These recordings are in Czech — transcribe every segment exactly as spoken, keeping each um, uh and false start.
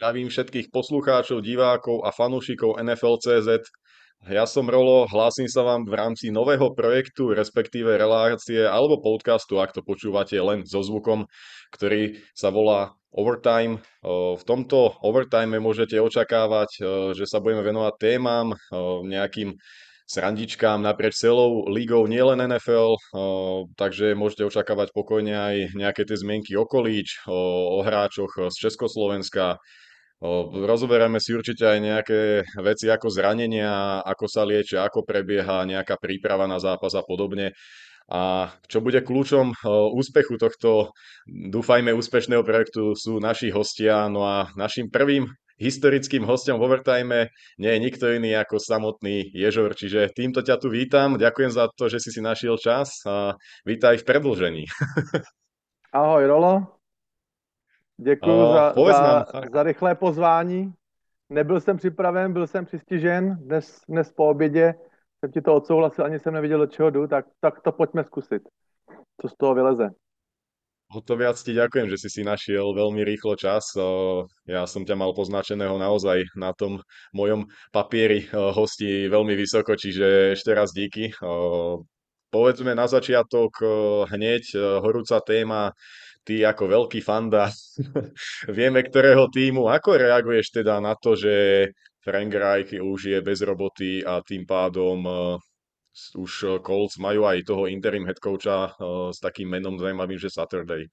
Zdravím všetkých poslucháčov, divákov a fanúšikov en ef el bodka cé zet. Ja som Rolo, hlásim sa vám v rámci nového projektu, respektíve relácie alebo podcastu, ak to počúvate len so zvukom, ktorý sa volá Overtime. O, V tomto overtime môžete očakávať, o, že sa budeme venovať témam, o, nejakým srandičkám naprieč celou ligou, nielen en ef el, o, takže môžete očakávať pokojne aj nejaké tie zmienky o kolíč, o, o hráčoch z Československa. O, Rozoberieme si určite aj nejaké veci ako zranenia, ako sa liečia, ako prebieha nejaká príprava na zápas a podobne. A čo bude kľúčom o, úspechu tohto, dúfajme, úspešného projektu sú naši hostia. No a našim prvým historickým hostom v Overtime nie je nikto iný ako samotný Ježor. Čiže týmto ťa tu vítam. Ďakujem za to, že si si našiel čas a vítaj v predĺžení. Ahoj Rolo, děkuji O, za, Povedz nám, za, za rychlé pozvání. Nebyl jsem připraven, byl jsem přistižen. Dnes, dnes po obědě jsem ti to odsouhlasil, ani jsem neviděl, do čeho jdu, tak, tak to pojďme zkusit, co z toho vyleze. O to viac ti ďakujem, že si si našiel veľmi rýchlo čas. O, Ja som ťa mal poznačeného naozaj na tom mojom papieri o, hostí veľmi vysoko, čiže ešte raz díky. O, Povedzme na začiatok o, hneď o, horúca téma. Ty ako veľký fanda, vieme ktorého týmu. Ako reaguješ teda na to, že Frank Reich už je bez roboty a tým pádom o, s- už o, Colts majú aj toho interim head coacha o, s takým menom zaujímavým, že Saturday.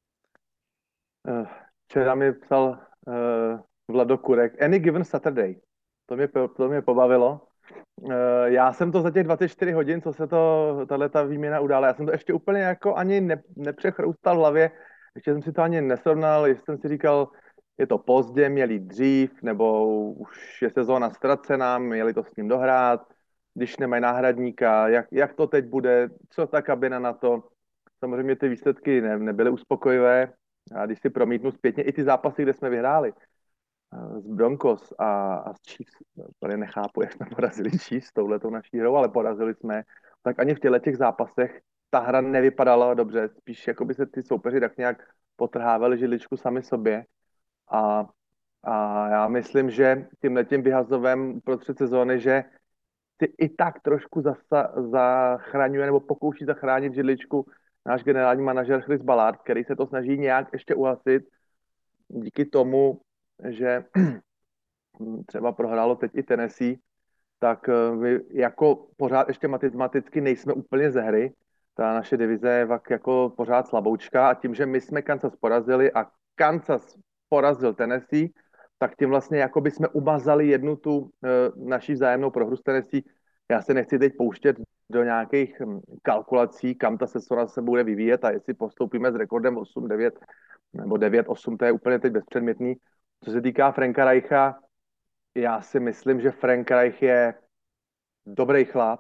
Eh, Včera mi psal uh, Vlado Kurek, Any Given Saturday. To mě, po- to mě pobavilo. Eh, Já jsem to za těch dvacet čtyři hodin, co se to, tahle ta výměna udála, já jsem to ještě úplně jako ani ne, nepřechroustal v hlavě, ještě jsem si to ani nesrovnal, jestli jsem si říkal, je to pozdě, měli dřív, nebo už je sezóna ztracená, měli to s ním dohrát, když nemají náhradníka, jak, jak to teď bude, co ta kabina na to. Samozřejmě ty výsledky ne, nebyly uspokojivé, a když si promítnu zpětně i ty zápasy, kde jsme vyhráli, z Broncos a, a z Chiefs, úplně nechápu, jak jsme porazili Chiefs touhletou naší hrou, ale porazili jsme, tak ani v těchto těch zápasech ta hra nevypadala dobře, spíš jako by se ty soupeři tak nějak potrhávali židličku sami sobě a, a já myslím, že tím letím vyhazovem uprostřed sezóny, že si i tak trošku zasa, zachraňuje nebo pokouší zachránit židličku náš generální manažer Chris Ballard, který se to snaží nějak ještě uhasit díky tomu, že třeba prohrálo teď i Tennessee, tak eh, my jako pořád ještě matematicky nejsme úplně ze hry. Ta naše divize je vak jako pořád slaboučka a tím, že my jsme Kansas porazili a Kansas porazil Tennessee, tak tím vlastně jako by jsme umazali jednu tu e, naší vzájemnou prohru s Tennessee. Já se nechci teď pouštět do nějakých hm, kalkulací, kam ta sezona se bude vyvíjet a jestli postoupíme s rekordem osm devět nebo devět osm, to je úplně teď bezpředmětný. Co se týká Franka Reicha, já si myslím, že Frank Reich je dobrý chlap.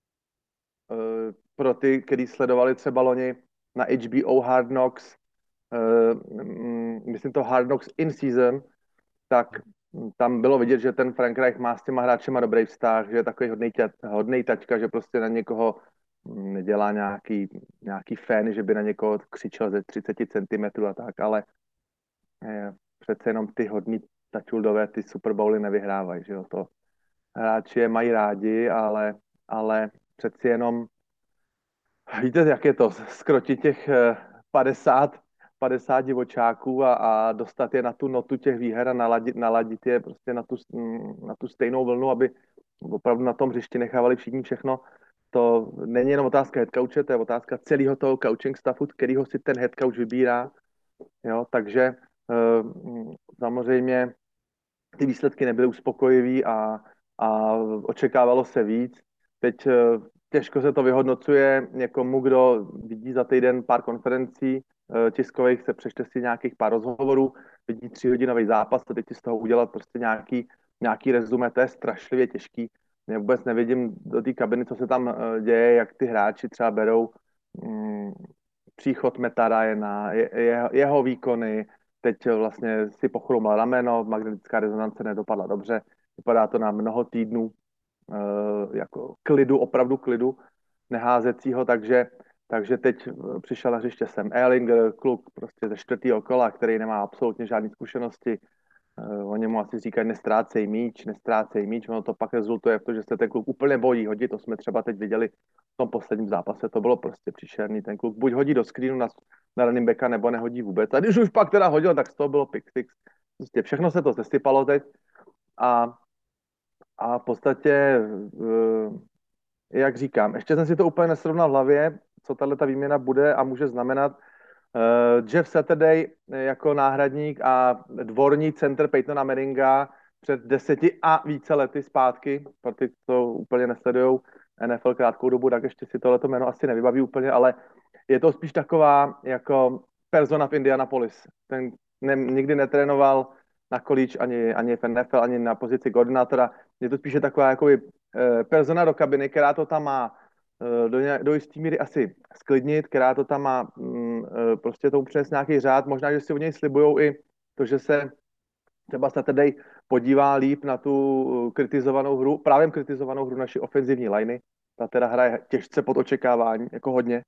Eh, Pro ty, kteří sledovali třeba loni na H B O Hard Knocks, eh, mm, myslím to Hard Knocks in season, tak tam bylo vidět, že ten Frank Reich má s těma hráčema dobrý vztah, že je takový hodnej, hodnej tačka, že prostě na někoho mm, nedělá nějaký, nějaký fan, že by na někoho křičel ze třicet centimetrů a tak, ale eh, přece jenom ty hodný tačuldové ty Super Bowly nevyhrávají, že jo, to hráči je mají rádi, ale, ale přeci jenom víte, jak je to, skrotit těch eh, padesát, padesát divočáků a, a dostat je na tu notu těch výher a naladit, naladit je prostě na tu, mm, na tu stejnou vlnu, aby opravdu na tom hřišti nechávali všichni všechno. To není jenom otázka head coache, to je otázka celého toho coaching staffu, kterýho si ten head coach vybírá. Jo, takže eh, mm, samozřejmě ty výsledky nebyly uspokojivý a, a očekávalo se víc. Teď eh, těžko se to vyhodnocuje někomu, kdo vidí za týden pár konferencí eh, tiskových, se přečte si nějakých pár rozhovorů, vidí tříhodinový zápas a teď si z toho udělat prostě nějaký, nějaký rezume, to je strašlivě těžký. Já vůbec nevidím do té kabiny, co se tam eh, děje, jak ty hráči třeba berou mm, příchod Meta Ryana, je, je, jeho výkony, teď vlastně si pochromal rameno, magnetická rezonance nedopadla dobře, vypadá to na mnoho týdnů e, jako klidu, opravdu klidu neházecího, takže, takže teď přišel na hřiště Sam Ehlinger, kluk prostě ze čtvrtého kola, který nemá absolutně žádné zkušenosti, Uh, oni mu asi říkají nestrácej míč, nestrácej míč, ono to pak rezultuje v to, že se ten kluk úplně bojí hodit, to jsme třeba teď viděli v tom posledním zápase, to bylo prostě příšerný, ten kluk buď hodí do screenu na, na running backa, nebo nehodí vůbec. A když už pak teda hodil, tak z toho bylo pick six. Prostě všechno se to sesypalo teď a, a v podstatě, uh, jak říkám, ještě jsem si to úplně nesrovnal v hlavě, co tahle ta výměna bude a může znamenat. Uh, Jeff Saturday jako náhradník a dvorní center Peytona Manninga před deseti a více lety zpátky, pro ty, co úplně nesledujou N F L krátkou dobu, tak ještě si tohleto jméno asi nevybaví úplně, ale je to spíš taková jako persona v Indianapolis. Ten ne, nikdy netrénoval na college ani, ani v N F L, ani na pozici koordinátora. Je to spíše taková jakoby, eh, persona do kabiny, která to tam má eh, do, nějak, do jistý míry asi sklidnit, která to tam má mm, eh, prostě tomu přinést nějaký řád. Možná, že si u něj slibujou i to, že se třeba Saturday podívá líp na tu kritizovanou hru, právě kritizovanou hru naší ofenzivní liney. Ta teda hraje těžce pod očekávání, jako hodně.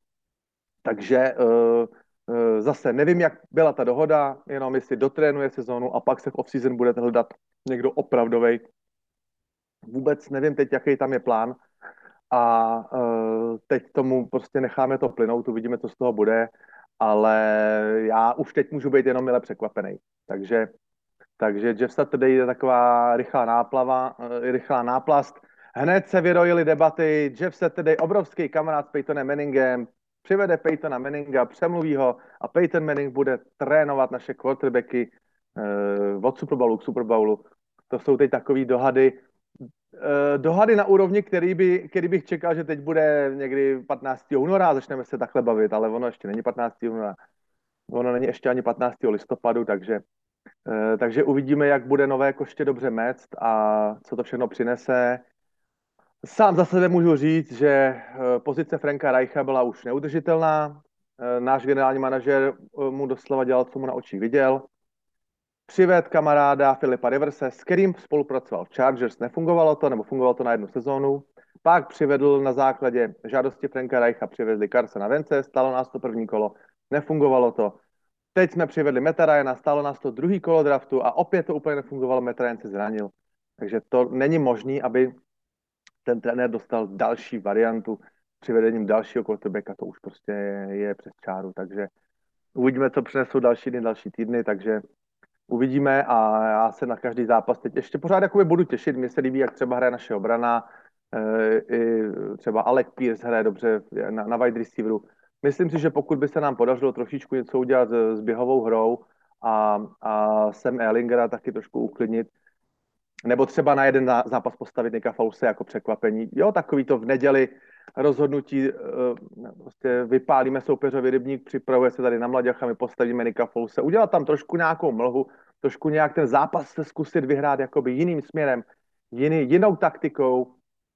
Takže uh, uh, zase nevím, jak byla ta dohoda, jenom jestli dotrénuje sezónu a pak se v off-season bude hledat někdo opravdovej. Vůbec nevím teď, jaký tam je plán a uh, teď tomu prostě necháme to plynout, uvidíme, co z toho bude, ale já už teď můžu být jenom mile překvapený. Takže, takže Jeff Saturday je taková rychlá náplava, uh, rychlá náplast. Hned se vyrojily debaty, Jeff Saturday, obrovský kamarád s Peytonem Manningem, přivede Peytona Manninga, přemluví ho a Peyton Manning bude trénovat naše quarterbacky uh, od Super Bowlu k Super Bowlu. To jsou teď takové dohady, uh, dohady na úrovni, který, by, který bych čekal, že teď bude někdy patnáctého února a začneme se takhle bavit, ale ono ještě není patnáctého února. Ono není ještě ani patnáctého listopadu, takže, uh, takže uvidíme, jak bude nové koště dobře mect a co to všechno přinese. Sám za sebe můžu říct, že pozice Franka Reicha byla už neudržitelná. Náš generální manažer mu doslova dělal, co mu na očích viděl. Přived kamaráda Filipa Riverse, s kterým spolupracoval v Chargers, nefungovalo to, nebo fungovalo to na jednu sezónu. Pak přivedl na základě žádosti Franka Reicha, přivedli Carsona Wentze, stalo nás to první kolo, nefungovalo to. Teď jsme přivedli Matta Ryana, stalo nás to druhý kolo draftu a opět to úplně nefungovalo, Matt Ryan se zranil. Takže to není možné, aby ten trenér dostal další variantu přivedením dalšího quarterbacka, to už prostě je, je přes čáru, takže uvidíme, co přinesou další dny, další týdny, takže uvidíme a já se na každý zápas teď ještě pořád jakoby budu těšit, mně se líbí, jak třeba hraje naše obrana, i třeba Alec Pierce hraje dobře na, na wide receiveru. Myslím si, že pokud by se nám podařilo trošičku něco udělat s, s běhovou hrou a, a Sam Ehlingera taky trošku uklidnit, nebo třeba na jeden zápas postavit Nicka Folese jako překvapení. Jo, takový to v neděli rozhodnutí, prostě vypálíme soupeřovi rybník, připravuje se tady na mladěch a my postavíme Nicka Folese. Udělat tam trošku nějakou mlhu, trošku nějak ten zápas se zkusit vyhrát jakoby jiným směrem, jiný, jinou taktikou.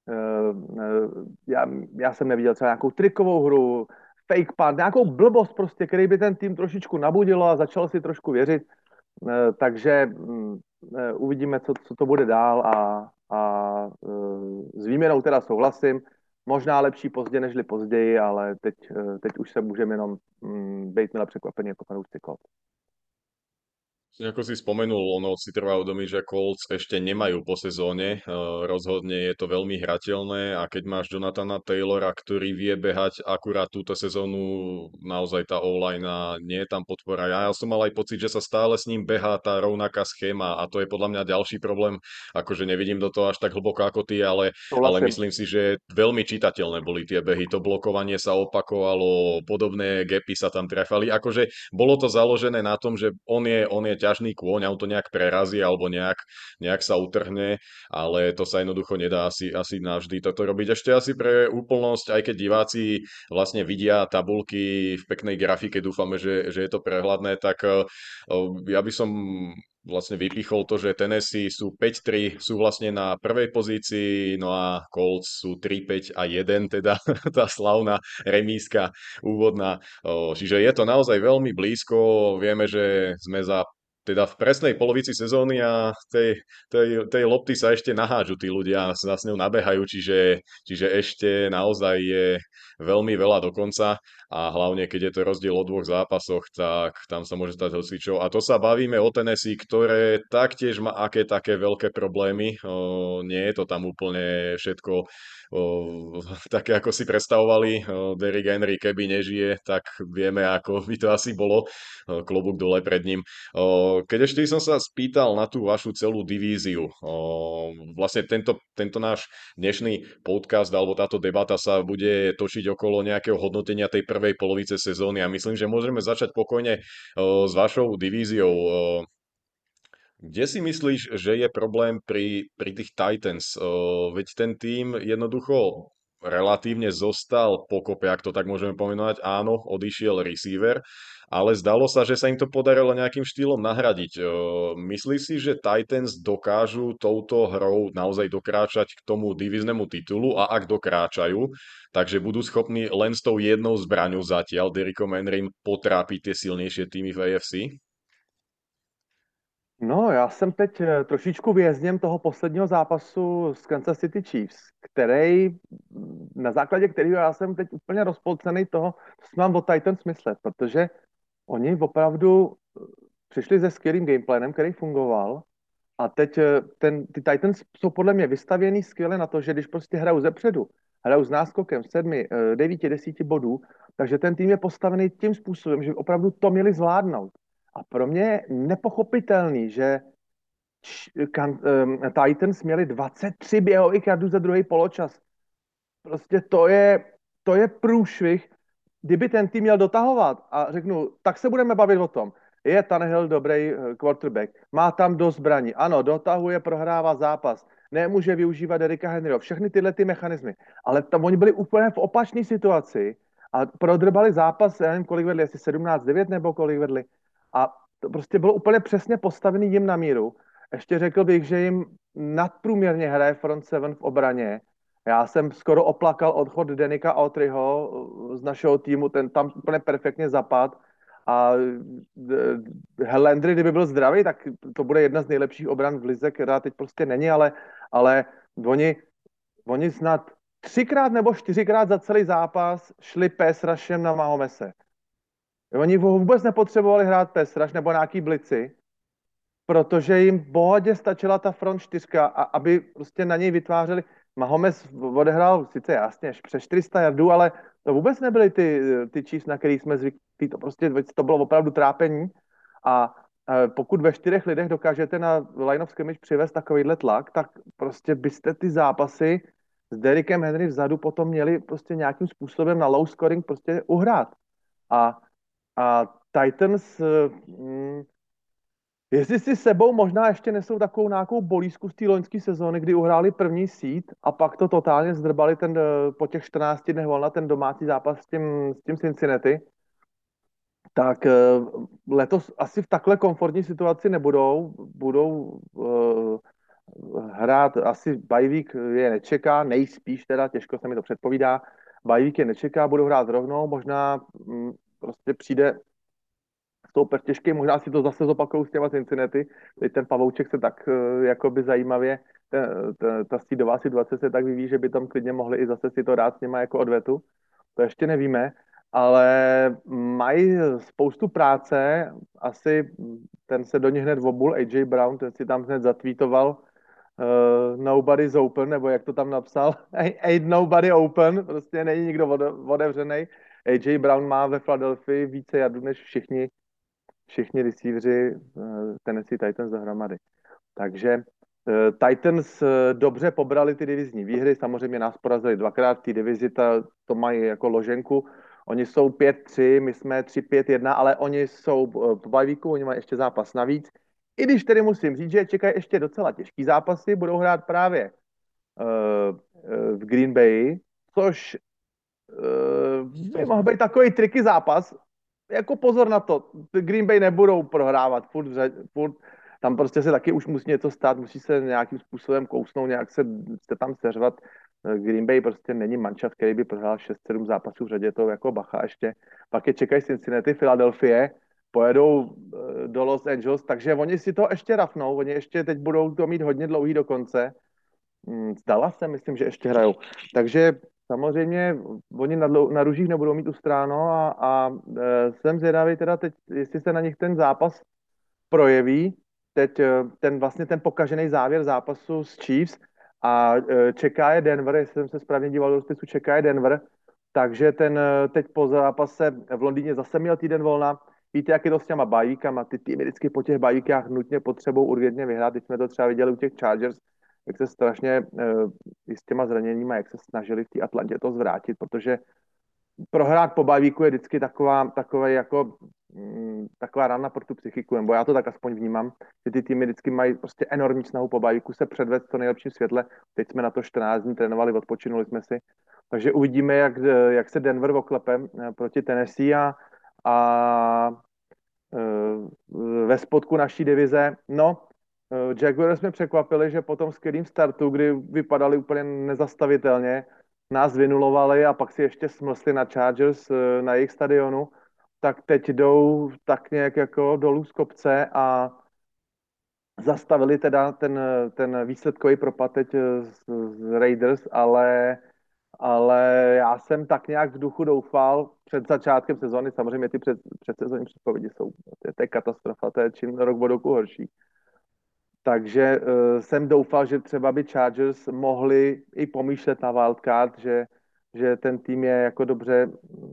Já, já jsem neviděl třeba nějakou trikovou hru, fake punt, nějakou blbost prostě, který by ten tým trošičku nabudilo a začal si trošku věřit. Takže uvidíme, co, co to bude dál a, a s výměnou teda souhlasím. Možná lepší pozdě, nežli později, ale teď, teď už se můžeme jenom být milé překvapení jako fanoušci Colts. Ako si spomenul, ono si trvá uvedomiť, že Colts ešte nemajú po sezóne. Uh, rozhodne je to veľmi hrateľné a keď máš Jonathana Taylora, ktorý vie behať akurát túto sezónu, naozaj tá online nie je tam podpora. Ja, ja som mal aj pocit, že sa stále s ním behá tá rovnaká schéma a to je podľa mňa ďalší problém. Akože nevidím do toho až tak hlboko ako ty, ale, ale myslím si, že veľmi čitateľné boli tie behy. To blokovanie sa opakovalo, podobné gapy sa tam trafali. Akože bolo to založené na tom, že on je, on je ťažný kôň, on to nejak prerazí alebo nejak, nejak sa utrhne, ale to sa jednoducho nedá asi, asi navždy toto robiť. Ešte asi pre úplnosť, aj keď diváci vlastne vidia tabulky v peknej grafike, dúfame, že, že je to prehľadné, tak uh, ja by som vlastne vypichol to, že Tennessee sú päť tri, sú vlastne na prvej pozícii, no a Colts sú tri päť a jeden, teda tá slavná remíska úvodná. Čiže je to naozaj veľmi blízko, vieme, že sme za teda v presnej polovici sezóny a tej, tej, tej lopty sa ešte nahážu tí ľudia, sa s ňou nabehajú, čiže, čiže ešte naozaj je veľmi veľa dokonca a hlavne keď je to rozdiel o dvoch zápasoch, tak tam sa môže stať hocičo. A to sa bavíme o Tennessee, ktoré taktiež má aké také veľké problémy. O, nie je to tam úplne všetko o, také, ako si predstavovali. O, Derrick Henry, keby nežije, tak vieme, ako by to asi bolo. O, klobúk dole pred ním. O, keď ešte som sa spýtal na tú vašu celú divíziu, o, vlastne tento, tento náš dnešný podcast alebo táto debata sa bude točiť okolo nejakého hodnotenia tej prvej polovice sezóny a myslím, že môžeme začať pokojne o, s vašou divíziou. O, kde si myslíš, že je problém pri, pri tých Titans? O, veď ten tým jednoducho relatívne zostal pokope, ak to tak môžeme pomenovať. Áno, odišiel receiver, ale zdalo sa, že sa im to podarilo nejakým štýlom nahradiť. O, myslíš si, že Titans dokážu touto hrou naozaj dokráčať k tomu divíznemu titulu a ak dokráčajú, takže budú schopní len s tou jednou zbraňou zatiaľ Derrickom Henrym potrápiť tie silnejšie týmy v A F C? No, já jsem teď eh, trošičku vězněm toho posledního zápasu s Kansas City Chiefs, který, mm, na základě kterého já jsem teď úplně rozpolcený toho, co si mám o Titans myslet, protože oni opravdu eh, přišli se skvělým gameplanem, který fungoval a teď eh, ten, ty Titans jsou podle mě vystavěný skvěle na to, že když prostě hrajou zepředu, hrajou s náskokem sedmi, eh, devíti, desíti bodů, takže ten tým je postavený tím způsobem, že opravdu to měli zvládnout. A pro mě je nepochopitelný, že č- kan, um, Titans měli dvacet tři běhových jardů za druhý poločas. Prostě to je, to je průšvih. Kdyby ten tým měl dotahovat a řeknu, tak se budeme bavit o tom. Je Tannehill dobrý eh, quarterback, má tam dost zbraní, ano, dotahuje, prohrává zápas, nemůže využívat Derricka Henryho, všechny tyhle ty mechanismy. Ale tam oni byli úplně v opačné situaci a prodrbali zápas, já nevím, kolik vedli, asi sedmnáct devět nebo kolik vedli. A to prostě bylo úplně přesně postavený jim na míru. Ještě řekl bych, že jim nadprůměrně hraje front seven v obraně. Já jsem skoro oplakal odchod Denika Autryho z našeho týmu, ten tam úplně perfektně zapad. A eh, Landry, kdyby byl zdravý, tak to bude jedna z nejlepších obran v lize, která teď prostě není, ale, ale oni, oni snad třikrát nebo čtyřikrát za celý zápas šli pass rushem na Mahomese. Oni vůbec nepotřebovali hrát pass rush nebo nějaký blici, protože jim v pohodě stačila ta front čtyřka, a aby prostě na něj vytvářeli. Mahomes odehrál sice jasně přes čtyři sta jardů, ale to vůbec nebyly ty, ty Chiefs, na který jsme zvyklí. To prostě to bylo opravdu trápení. A pokud ve čtyřech lidech dokážete na line of scrimmage přivést takovýhle tlak, tak prostě byste ty zápasy s Derrickem Henry vzadu potom měli prostě nějakým způsobem na low scoring prostě uhrát. A, a Titans, mm, jestli si sebou možná ještě nesou takovou nějakou bolízku z té loňské sezóny, kdy uhráli první seed a pak to totálně zdrbali ten, po těch čtrnácti dnech volna ten domácí zápas s tím, s tím Cincinnati, tak letos asi v takhle komfortní situaci nebudou. Budou uh, hrát asi bajvík je nečeká, nejspíš teda, těžko se mi to předpovídá, bajvík je nečeká, budou hrát rovnou, možná mm, prostě přijde super těžký, možná si to zase zopakuju s těma Cincinnati, teď ten pavouček se tak uh, jakoby zajímavě, ta, ta, ta střídová situace se tak vyvíjí, že by tam klidně mohli i zase si to dát s něma jako odvetu, to ještě nevíme, ale mají spoustu práce, asi ten se do nich hned obul, A J Brown, ten si tam hned zatweetoval uh, nobody's open, nebo jak to tam napsal, ain't nobody open, prostě není nikdo otevřený. A J Brown má ve Philadelphii více jardů než všichni všichni receiveři uh, Tennessee Titans dohromady. Takže uh, Titans uh, dobře pobrali ty divizní výhry, samozřejmě nás porazili dvakrát v té divizi, ta, to mají jako loženku. Oni jsou pět tři, my jsme tři pět jedna, ale oni jsou uh, po bajvíku, oni mají ještě zápas navíc. I když tedy musím říct, že čekají ještě docela těžký zápasy, budou hrát právě uh, uh, v Green Bay, což uh, by mohl být takový triky zápas, jako pozor na to, Green Bay nebudou prohrávat, furt, furt tam prostě se taky už musí něco stát, musí se nějakým způsobem kousnout, nějak se, se tam seřvat. Green Bay prostě není manšaft, který by prohrál šest sedm zápasů v řadě, to jako bacha ještě. Pak je čekají Cincinnati, Philadelphia, pojedou eh, do Los Angeles, takže oni si to ještě rafnou, oni ještě teď budou to mít hodně dlouhý do konce. Hmm, Zdala se, myslím, že ještě hrajou. Takže samozřejmě oni na, dlou- na ružích nebudou mít ustráno a, a e, jsem zvědavý teda teď, jestli se na nich ten zápas projeví. Teď e, ten vlastně ten pokažený závěr zápasu s Chiefs a e, čeká je Denver, jestli jsem se správně díval do spisu, čeká je Denver, takže ten e, teď po zápase v Londýně zase měl týden volna. Víte, jak je to s těma bajíkama, ty týmy vždycky po těch bajíkách nutně potřebují urgentně vyhrát. Teď jsme to třeba viděli u těch Chargers, jak se strašně e, i s těma zraněníma, jak se snažili v té Atlantě to zvrátit, protože prohrát po bavíku je vždycky taková, takové jako, mm, taková rána pro tu psychiku, nebo já to tak aspoň vnímám, že ty týmy vždycky mají prostě enormní snahu po bavíku se předvést v to nejlepším světle. Teď jsme na to čtrnáct dní trénovali, odpočinuli jsme si. Takže uvidíme, jak, jak se Denver oklepe eh, proti Tennessee a, a eh, ve spodku naší divize. No, eh, Jaguars jsme překvapili, že po tom skvělým startu, kdy vypadali úplně nezastavitelně, nás vynulovali a pak si ještě smlsli na Chargers eh, na jejich stadionu, tak teď jdou tak nějak jako dolů z kopce a zastavili teda ten, ten výsledkový propad teď eh, z, z Raiders, ale ale já jsem tak nějak v duchu doufal před začátkem sezóny, samozřejmě ty před, předsezónní předpovědi jsou, to je, to je katastrofa, to je čím rok od roku horší. Takže uh, jsem doufal, že třeba by Chargers mohli i pomýšlet na wildcard, že, že ten tým je jako dobře,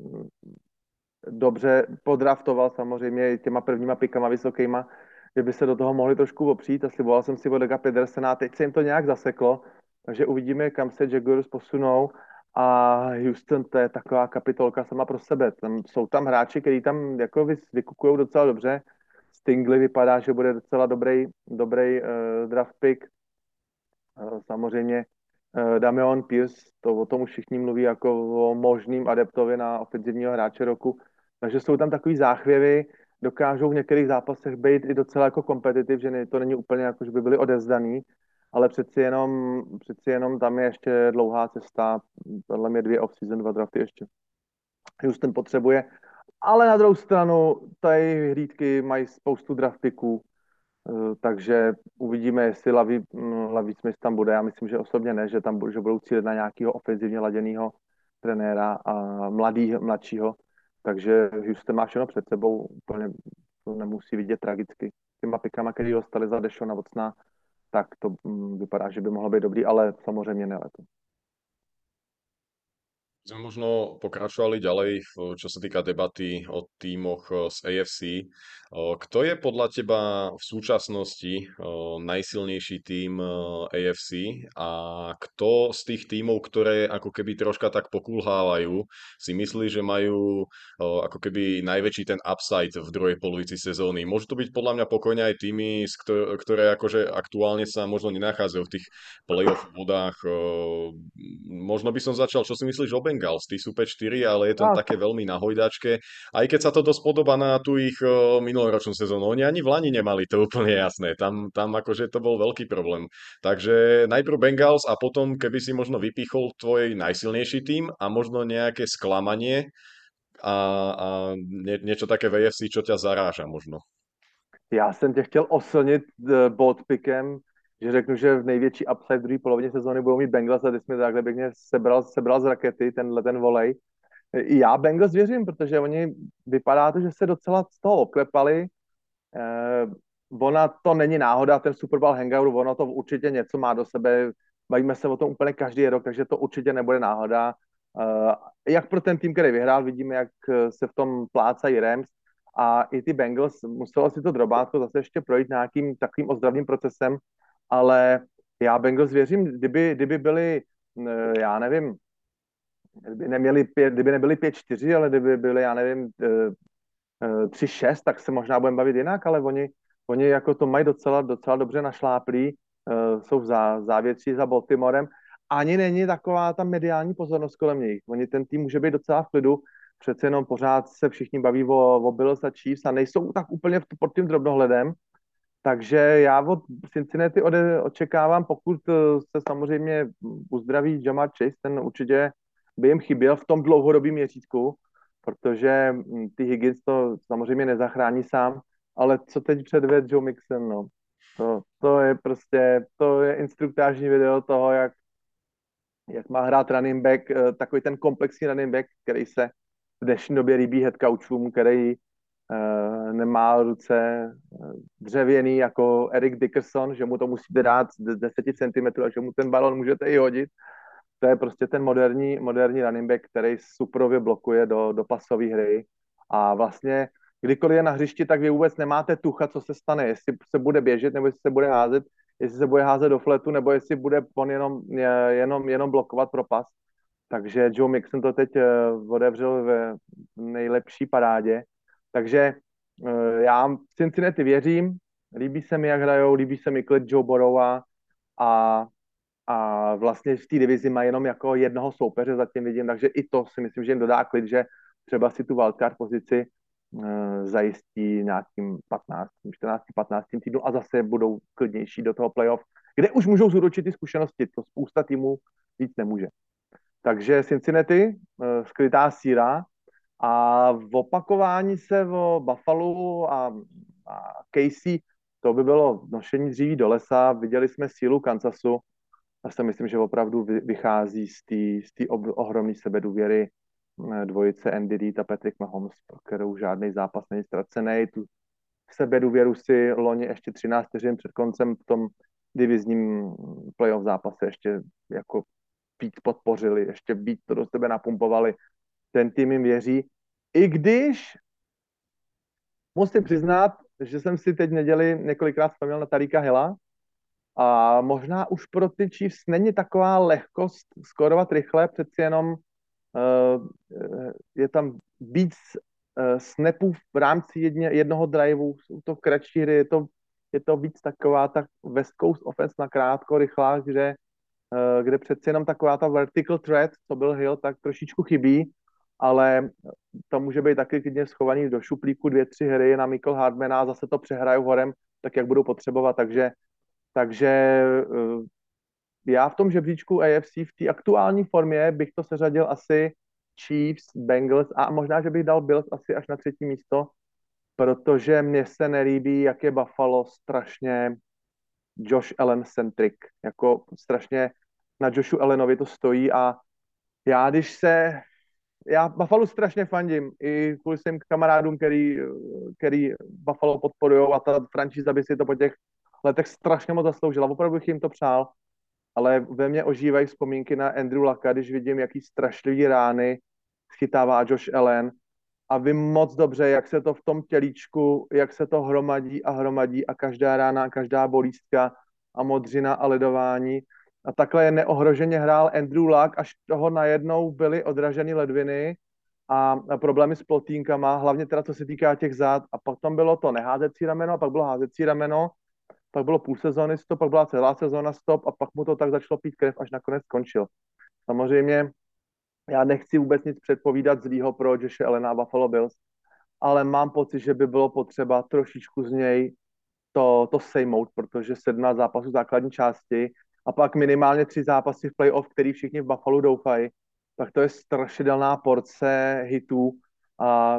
dobře podraftoval samozřejmě těma prvníma pikama vysokýma, že by se do toho mohli trošku opřít a sliboval jsem si Odega Pedersena a teď se jim to nějak zaseklo, takže uvidíme, kam se Jaguars posunou a Houston, to je taková kapitolka sama pro sebe. Tam, jsou tam hráči, kteří tam jako vykukují docela dobře. Stingley vypadá, že bude docela dobrý, dobrý uh, draft pick. Uh, samozřejmě uh, Dameon Pierce, to o tom už všichni mluví jako o možným adeptovi na ofenzivního hráče roku. Takže jsou tam takový záchvěvy, dokážou v některých zápasech být i docela jako kompetitiv, že ne, to není úplně jako, že by byli odevzdaný, ale přeci jenom, přeci jenom tam je ještě dlouhá cesta, podle mě dvě off-season, dva drafty ještě. Houston potřebuje, ale na druhou stranu tady hlídky mají spoustu draft picků, eh, takže uvidíme, jestli Laví, Laví Smith tam bude. Já myslím, že osobně ne, že tam že budou cílit na nějakého ofenzivně laděného trenéra a mladý, mladšího. Takže Houston má všechno před sebou, úplně to nemusí vidět tragicky. Těma pikama, který dostali za Dešona Watsona, tak to mm, vypadá, že by mohlo být dobrý, ale samozřejmě ne letos. Sme možno pokračovali ďalej, v- čo sa týka debaty o tímoch eh, z A F C. Eh, Kto je podľa teba v súčasnosti eh, najsilnejší tím eh, A F C a kto z tých tímov, ktoré ako keby troška tak pokulhávajú, si myslí, že majú eh, ako keby najväčší ten upside v druhej polovici sezóny? Môžu to byť podľa mňa pokojne aj týmy, z ktor- ktoré akože aktuálne sa možno nenachádzajú v tých playoff vodách. eh, Možno by som začal, čo si myslíš o Bengals? Tí sú päť štyri, ale je to A také veľmi na hojdačke. Aj keď sa to dosť podobá na tú ich eh, minuloročnú sezónu. Oni ani v Lani nemali to úplne jasné. Tam, tam akože to bol veľký problém. Takže najprv Bengals a potom, keby si možno vypichol tvoj najsilnejší tým a možno nejaké sklamanie a, a nie, niečo také v A F C, čo ťa zaráža možno. já jsem tě chtěl oslnit uh, bold pickem, že řeknu, že v největší upside v druhé polovině sezóny budou mít Bengals a ty jsi mi takhle pěkně sebral, sebral z rakety tenhle ten volej. I já Bengals věřím, protože oni vypadá to, že se docela z toho oklepali. Eh, ona to není náhoda, ten Super Bowl hangout, ono to určitě něco má do sebe. Bavíme se o tom úplně každý rok, takže to určitě nebude náhoda. Eh, jak pro ten tým, který vyhrál, vidíme, jak se v tom plácají Rams a i ty Bengals muselo si to drobátko zase ještě projít nějakým takovým ozdravným procesem, ale já Bengals věřím, kdyby, kdyby byli, eh, já nevím, kdyby, neměli pět, kdyby nebyli pět čtyři, ale kdyby byli, já nevím, tři šest, tak se možná budeme bavit jinak, ale oni, oni jako to mají docela, docela dobře našláplí, uh, jsou v zá, závětří za Baltimorem. Ani není taková ta mediální pozornost kolem nich. Oni ten tým může být docela v klidu, přece jenom pořád se všichni baví o, o Bills a Chiefs a nejsou tak úplně v, pod tím drobnohledem. Takže já od Cincinnati ode, očekávám, pokud se samozřejmě uzdraví Jamar Chase, ten určitě by jim chyběl v tom dlouhodobém měřítku, protože hm, ty Higgins to samozřejmě nezachrání sám, ale co teď předved Joe Mixon, no. To, to je prostě, to je instruktážní video toho, jak, jak má hrát running back, eh, takový ten komplexní running back, který se v dnešní době líbí head coachům, který uh, nemá ruce eh, dřevěný jako Eric Dickerson, že mu to musíte dát z deset centimetrů a že mu ten balon můžete i hodit. To je prostě ten moderní, moderní running back, který suprově blokuje do, do pasové hry a vlastně kdykoliv je na hřišti, tak vy vůbec nemáte tucha, co se stane, jestli se bude běžet, nebo jestli se bude házet, jestli se bude házet do fletu, nebo jestli bude on jenom, jenom, jenom blokovat pro pas. Takže Joe Mixon to teď otevřel ve nejlepší parádě. Takže já v Cincinnati věřím, líbí se mi, jak hrajou, líbí se mi klid Joe Burrowa a, a vlastně v té divizi má jenom jako jednoho soupeře, zatím vidím, takže i to si myslím, že jim dodá klid, že třeba si tu wildcard pozici uh, zajistí nějakým patnáctým, čtrnáctým, patnáctým týdnu a zase budou klidnější do toho playoff, kde už můžou zúročit ty zkušenosti, to spousta týmů víc nemůže. Takže Cincinnati, uh, skrytá síra a v opakování se o Buffalo a, a Casey, to by bylo nošení dříví do lesa, viděli jsme sílu Kansasu, já si myslím, že opravdu vychází z té ohromné sebedůvěry dvojice Andy Reid a Patrick Mahomes, pro kterou žádný zápas není ztracený. Tu sebedůvěru si loni ještě třináct vteřin před koncem v tom divizním playoff zápase ještě jako víc podpořili, ještě víc to do sebe napumpovali. Ten tým jim věří. I když musím přiznat, že jsem si teď neděli několikrát vzpomněl na Tarika Hilla, a možná už pro ty Chiefs není taková lehkost skórovat rychle, přeci jenom uh, je tam víc uh, snapů v rámci jedně, jednoho driveu, jsou to kratší hry, je to, je to víc taková ta West Coast offense na krátko, rychlá, kde, uh, kde přeci jenom taková ta vertical threat, co byl Hill, tak trošičku chybí, ale to může být taky klidně schovaný do šuplíku dvě, tři hry na Michael Hardmana a zase to přehrajou horem, tak jak budou potřebovat, takže Takže já v tom žebříčku A F C v té aktuální formě bych to seřadil asi Chiefs, Bengals a možná, že bych dal Bills asi až na třetí místo, protože mně se nelíbí, jak je Buffalo strašně Josh Allen centric, jako strašně na Joshu Allenovi to stojí a já když se, já Buffalo strašně fandím, i kvůli svým kamarádům, který, který Buffalo podporujou a ta franšíza by si to po těch letech strašně moc zasloužila, opravdu bych jim to přál, ale ve mně ožívají vzpomínky na Andrew Lucka, když vidím, jaký strašlivý rány schytává Josh Allen a vím moc dobře, jak se to v tom tělíčku, jak se to hromadí a hromadí a každá rána, každá bolístka a modřina a ledování. A takhle je neohroženě hrál Andrew Luck, až toho najednou byly odraženy ledviny a, a problémy s plotínkama, hlavně teda co se týká těch zád. A pak tam bylo to neházecí rameno, a pak bylo házecí rameno, pak bylo půl sezóny stop, pak byla celá sezóna stop a pak mu to tak začalo pít krev, až nakonec skončil. Samozřejmě já nechci vůbec nic předpovídat zlýho pro Joshe Allena a Buffalo Bills, ale mám pocit, že by bylo potřeba trošičku z něj to, to sejmout, protože sedmnáct zápasů základní části a pak minimálně tři zápasy v playoff, který všichni v Buffalo doufají, tak to je strašidelná porce hitů a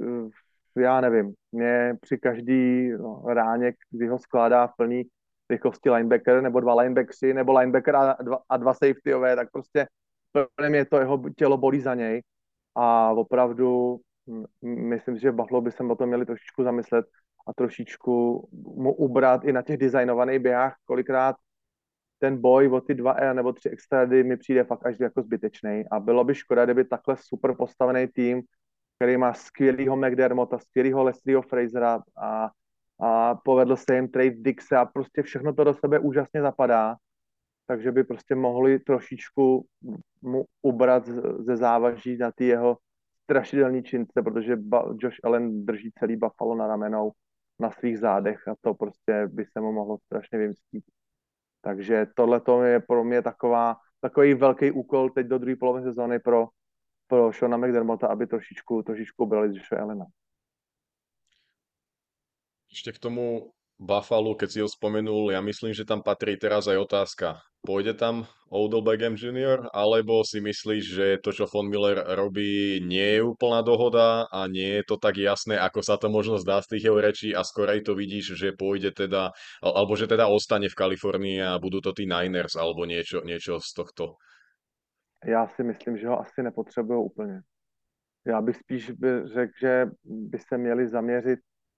já nevím, mě při každý no, ráně, kdy ho skládá v plný rychlosti linebacker, nebo dva linebackři, nebo linebacker a dva, a dva safetyové, tak prostě plně mě to jeho tělo bolí za něj a opravdu myslím si, že Buffalo by se o tom měli trošičku zamyslet a trošičku mu ubrat i na těch designovaných běhách, kolikrát ten boj o ty dva E nebo tři extrady mi přijde fakt až jako zbytečný a bylo by škoda, kdyby takhle super postavený tým, který má skvělýho McDermotta, skvělýho Leslieho Frasera a, a povedl se jim trade Dixe a prostě všechno to do sebe úžasně zapadá, takže by prostě mohli trošičku mu ubrat ze závaží na ty jeho strašidelný čince, protože Josh Allen drží celý Buffalo na ramenou na svých zádech a to prostě by se mu mohlo strašně vymstít. Takže tohle je pro mě taková, takový velký úkol teď do druhé poloviny sezóny pro, pro Shona McDermotta, aby trošičku, trošičku brali z Josha Allena. Ešte k tomu Buffalo, keď si ho spomenul, ja myslím, že tam patrí teraz aj otázka. Pôjde tam Odell Beckham junior, alebo si myslíš, že to, čo Von Miller robí, nie je úplná dohoda a nie je to tak jasné, ako sa to možno zdá z tých jeho rečí a skorej to vidíš, že pôjde teda, al- alebo že teda ostane v Kalifornii a budú to tí Niners alebo niečo, niečo z tohto. Já si myslím, že ho asi nepotřebují úplně. Já bych spíš by řekl, že by se měli zaměřit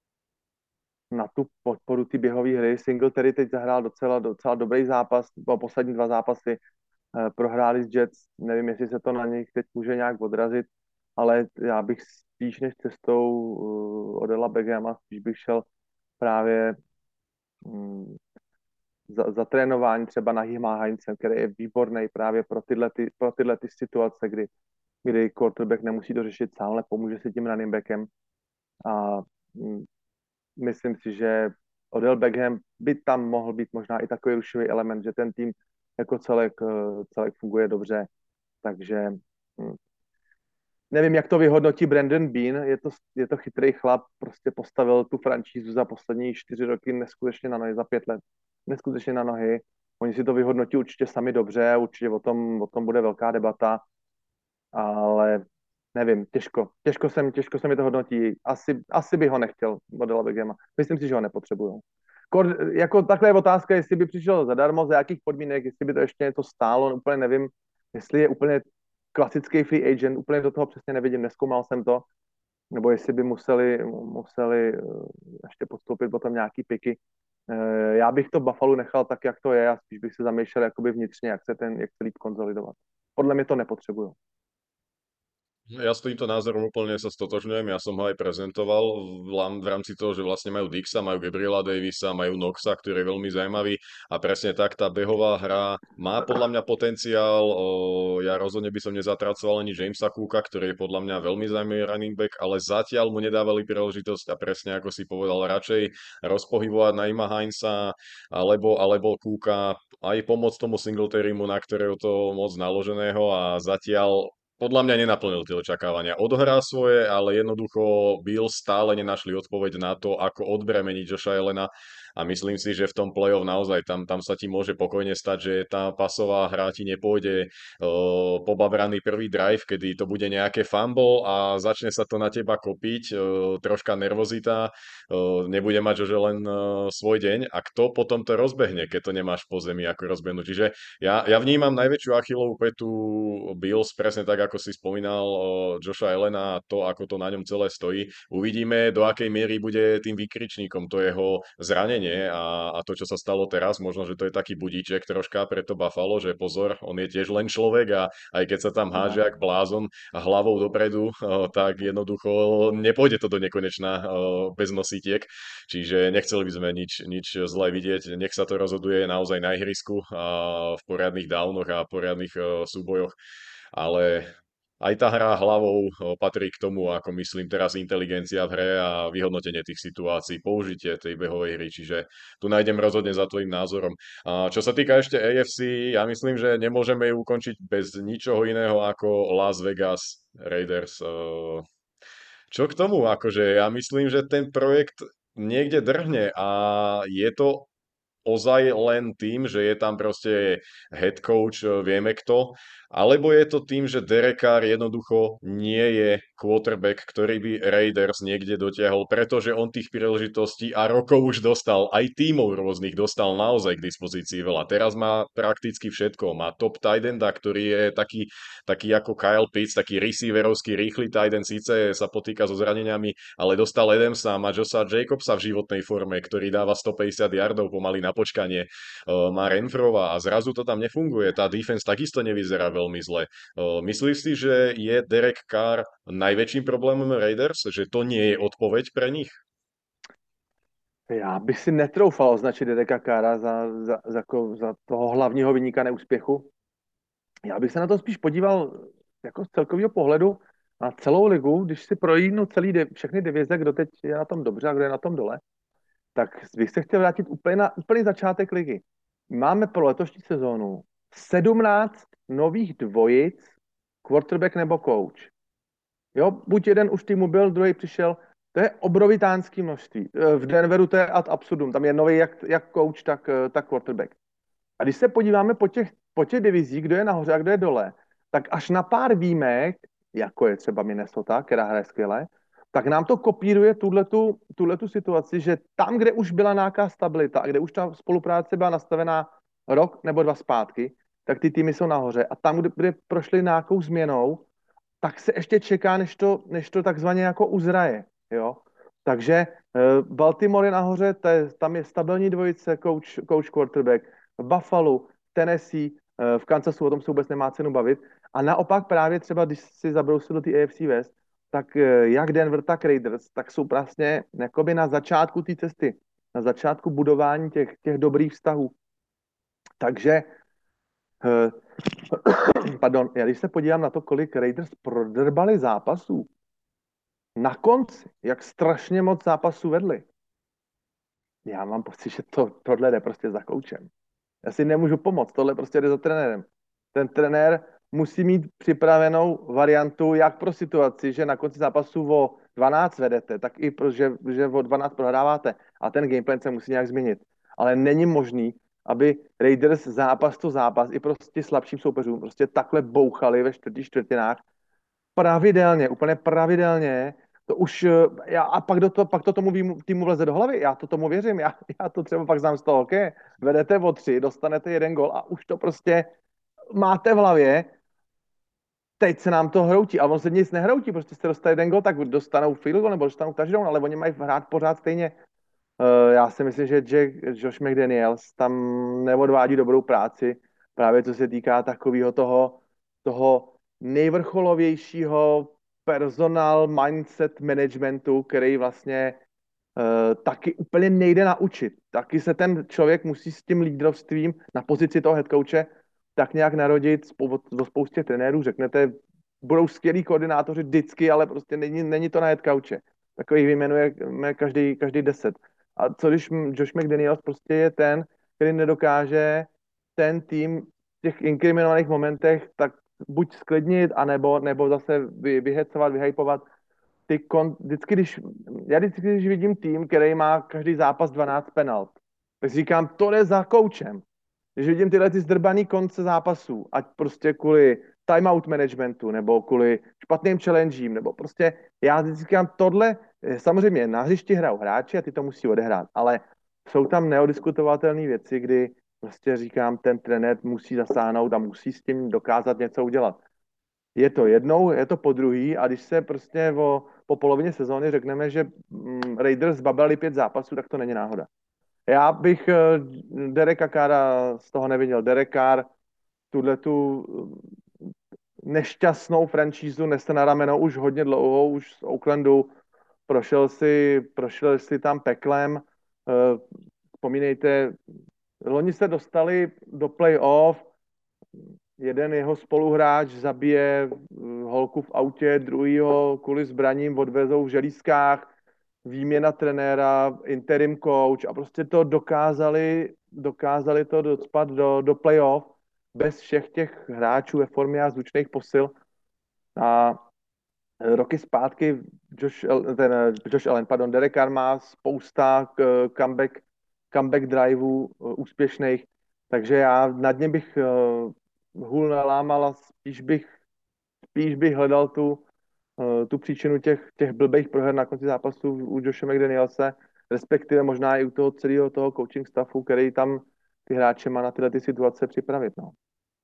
na tu podporu ty běhové hry. Singletary teď zahrál docela, docela dobrý zápas, po poslední dva zápasy eh, prohráli s Jets, nevím, jestli se to na nich teď může nějak odrazit, ale já bych spíš než cestou uh, Odella Beckhama, spíš bych šel právě um, za, za trénování třeba na Hima Heinze, který je výborný právě pro tyhle, ty, pro tyhle ty situace, kdy, kdy quarterback nemusí to řešit sám, ale pomůže si tím running backem. A mm, myslím si, že Odell Beckham by tam mohl být možná i takový rušivý element, že ten tým jako celek, eh, celek funguje dobře. Takže hm, nevím, jak to vyhodnotí Brandon Bean. Je to, je to chytrý chlap, prostě postavil tu franšízu za poslední čtyři roky neskutečně na nohy, za pět let neskutečně na nohy. Oni si to vyhodnotí určitě sami dobře, určitě o tom, o tom bude velká debata, ale nevím, těžko. Těžko se, mi- těžko se mi to hodnotí. Asi, asi bych ho nechtěl, Odella Beckhama. Myslím si, že ho nepotřebuju. Kor, jako takhle je otázka, jestli by přišel zadarmo, za jakých podmínek, jestli by to ještě něco stálo, no, úplně nevím, jestli je úplně klasický free agent, úplně do toho přesně nevidím, neskoumal jsem to, nebo jestli by museli, museli eh, ještě podstoupit potom nějaký piky. Eh, Já bych to Buffalo nechal tak, jak to je a spíš bych se zamýšlel jakoby vnitřně, jak se ten, jak se líp konzolidovat. Podle mě to nepotřebuju. Ja s týmto názorom úplne sa stotožňujem, ja som ho aj prezentoval v, lám- v rámci toho, že vlastne majú Dixa, majú Gabriela Davisa, majú Knoxa, ktorý je veľmi zaujímavý a presne tak tá behová hra má podľa mňa potenciál. O, ja rozhodne by som nezatracoval ani Jamesa Cooka, ktorý je podľa mňa veľmi zaujímavý running back, ale zatiaľ mu nedávali príležitosť a presne ako si povedal, radšej rozpohybovať na Ima Heinza alebo, alebo Cooka, aj pomôcť tomu Singletarymu, na ktorého to moc naloženého a zatiaľ podľa mňa nenaplnil tie očakávania. Odohrá svoje, ale jednoducho Bills stále nenašli odpoveď na to, ako odbremeniť Josha Allena a myslím si, že v tom play-off naozaj tam, tam sa ti môže pokojne stať, že tá pasová hra ti nepôjde uh, pobabraný prvý drive, kedy to bude nejaké fumble a začne sa to na teba kopiť, uh, troška nervozita, uh, nebude mať Josh Allen uh, svoj deň a kto potom to rozbehne, keď to nemáš po zemi ako rozbehnúť. Čiže ja, ja vnímam najväčšiu Achillovú petu Bills, presne tak, ako si spomínal o Josha Allena a to, ako to na ňom celé stojí. Uvidíme, do akej miery bude tým výkričníkom to jeho zranenie a, a to, čo sa stalo teraz. Možno, že to je taký budíček troška pre to Buffalo, že pozor, on je tiež len človek a aj keď sa tam háže No. jak blázon a hlavou dopredu, o, tak jednoducho nepôjde to do nekonečna o, bez nosítiek. Čiže nechceli by sme nič, nič zlé vidieť. Nech sa to rozhoduje naozaj na ihrisku a v poriadnych downoch a poriadnych e, súbojoch. Ale aj tá hra hlavou e, patrí k tomu, ako myslím teraz inteligencia v hre a vyhodnotenie tých situácií, použitie tej behovej hry. Čiže tu nájdem rozhodne za tvojim názorom. A čo sa týka ešte á ef cé, ja myslím, že nemôžeme ju ukončiť bez ničoho iného ako Las Vegas Raiders. E, Čo k tomu, akože ja myslím, že ten projekt niekde drhne a je to ozaj len tým, že je tam proste head coach, e, vieme kto, alebo je to tým, že Derek Carr jednoducho nie je quarterback, ktorý by Raiders niekde dotiahol, pretože on tých príležitostí a rokov už dostal, aj tímov rôznych dostal naozaj k dispozícii veľa. Teraz má prakticky všetko. Má top tight enda, ktorý je taký, taký ako Kyle Pitts, taký receiverovský rýchly tight end, síce sa potýka so zraneniami, ale dostal Adamsa, má Josa Jacobsa v životnej forme, ktorý dáva stopäťdesiat yardov pomaly na počkanie, uh, má Renfrova a zrazu to tam nefunguje. Tá defense takisto nevyzerá veľmi zle. Uh, myslíš si, že je Derek Carr najväčším problémom Raiders? Že to nie je odpoveď pre nich? Já bych si netroufal označit Dereka Carra za, za, za, jako za toho hlavního vyníka neúspěchu. Já bych se na to spíš podíval jako z celkového pohledu na celou ligu, když si projídnu celý de, všechny divize, kdo teď je na tom dobře a kdo je na tom dole, tak bych se chtěl vrátit úplně na úplný začátek ligy. Máme pro letošní sezónu sedmnáct nových dvojic, quarterback nebo coach. Jo, buď jeden už týmu byl, druhý přišel, To je obrovitánský množství. V Denveru to je ad absurdum. Tam je nový jak, jak coach, tak, tak quarterback. A když se podíváme po těch, po těch divizích, kdo je nahoře a kdo je dole, tak až na pár výjimek, jako je třeba Minnesota, která hraje skvěle, tak nám to kopíruje tuhletu, tuhletu situaci, že tam, kde už byla nějaká stabilita a kde už ta spolupráce byla nastavená rok nebo dva zpátky, tak ty týmy jsou nahoře. A tam, kde, kde prošly nějakou změnou, tak se ještě čeká, než to, než to takzvaně jako uzraje. Jo? Takže uh, Baltimore je nahoře, to je, tam je stabilní dvojice, coach, coach quarterback, v Buffalo, Tennessee, uh, v Kansasu, o tom se vůbec nemá cenu bavit. A naopak právě třeba, když si zabrousil do té A F C West, tak uh, jak Denver, tak Raiders, tak jsou vlastně jakoby na začátku té cesty, na začátku budování těch, těch dobrých vztahů. Takže uh, pardon, já když se podívám na to, kolik Raiders prodrbali zápasů, na konci, jak strašně moc zápasů vedli, já mám pocit, že to, tohle jde prostě za koučem. Já si nemůžu pomoct, tohle prostě jde za trenérem. Ten trenér musí mít připravenou variantu, jak pro situaci, že na konci zápasu o dvanáct vedete, tak i pro, že, že o dvanáct prohráváte. A ten gameplan se musí nějak změnit. Ale není možný, aby Raiders zápas to zápas i prostě slabším soupeřům prostě takhle bouchali ve čtvrtých čtvrtinách pravidelně, úplně pravidelně. To už, já, a pak, do to, pak to tomu výmu, týmu vleze do hlavy. Já to tomu věřím. Já, já to třeba pak znám z toho, ok, vedete o tři, dostanete jeden gol a už to prostě máte v hlavě. Teď se nám to hroutí, ale on se nic nehroutí, prostě jste dostali jeden gol, tak dostanou field goal nebo dostanou touchdown, ale oni mají hrát pořád stejně. Uh, já si myslím, že Jack, Josh McDaniels tam neodvádí dobrou práci, právě co se týká takového toho, toho nejvrcholovějšího personal mindset managementu, který vlastně uh, taky úplně nejde naučit. Taky se ten člověk musí s tím lídrovstvím na pozici toho headcoache tak nějak narodit do spoustě trenérů. Řeknete, budou skvělí koordinátoři vždycky, ale prostě není, není to na headcoache. Takových vyjmenujeme každý, každý deset. A co když Josh McDaniels prostě je ten, který nedokáže ten tým v těch inkriminovaných momentech tak buď sklidnit, anebo, nebo zase vy, vyhecovat, vyhypovat. Ty kon, vždycky, když, já vždycky, když vidím tým, který má každý zápas dvanáct penalt, tak si říkám, to jde za koučem. Když vidím tyhle ty zdrbaný konce zápasů, ať prostě kvůli timeout managementu, nebo kvůli špatným challengím, nebo prostě já vždycky říkám, tohle, samozřejmě na hřišti hrajou hráči a ty to musí odehrát, ale jsou tam neodiskutovatelné věci, kdy prostě říkám, ten trenér musí zasáhnout a musí s tím dokázat něco udělat. Je to jednou, je to po druhý a když se prostě o, po polovině sezóny řekneme, že mm, Raiders zbabali pět zápasů, tak to není náhoda. Já bych uh, Dereka Carra z toho neviděl. Derek Carr tuhle tu nešťastnou franšízu nese na rameno už hodně dlouho, už z Oaklandu prošel si, prošel si tam peklem. Uh, vzpomínejte, loni se dostali do playoff, jeden jeho spoluhráč zabije holku v autě, druhýho kvůli zbraním odvezou v želízkách, výměna trenéra, interim coach a prostě to dokázali, dokázali to docpat do, do playoff bez všech těch hráčů ve formě a zvučných posil. A roky zpátky Josh, ten, Josh Allen, pardon, Derek Carr má spousta comeback, comeback driveů úspěšných, takže já nad ně bych hůl nalámal a spíš bych, spíš bych hledal tu, tu příčinu těch, těch blbých proher na konci zápasu u Joshe McDanielse, respektive možná i u toho celého toho coaching staffu, který tam ty hráče má na tyhle ty situace připravit. No.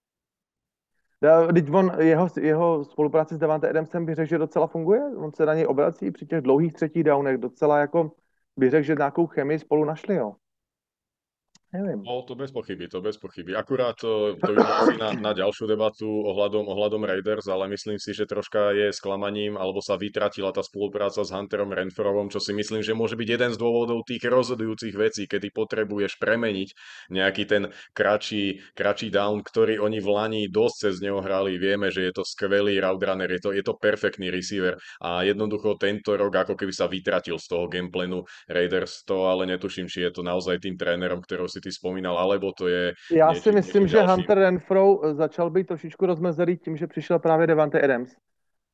Teď on, jeho, jeho spolupráce s Davante Adamsem bych řekl, že docela funguje. On se na něj obrací při těch dlouhých třetích downech. Docela jako bych řekl, že nějakou chemii spolu našli, jo. Neviem. No, to bez pochyby, to bez pochyby. Akurát to, to by bolo asi na, na ďalšiu debatu ohľadom, ohľadom Raiders, ale myslím si, že troška je sklamaním, alebo sa vytratila tá spolupráca s Hunterom Renfrovom, čo si myslím, že môže byť jeden z dôvodov tých rozhodujúcich vecí, kedy potrebuješ premeniť nejaký ten kratší, kratší down, ktorý oni v Lani dosť cez neho hrali. Vieme, že je to skvelý route runner, je to, je to perfektný receiver a jednoducho tento rok ako keby sa vytratil z toho gameplanu Raiders, to ale netuším, či je to naozaj tým trénerom, ktorého si ty spomínal, alebo to je Já niečo, si myslím, niečím že ďalším. Hunter Renfro začal být trošičku rozmezený tím, že přišel právě Davante Adams.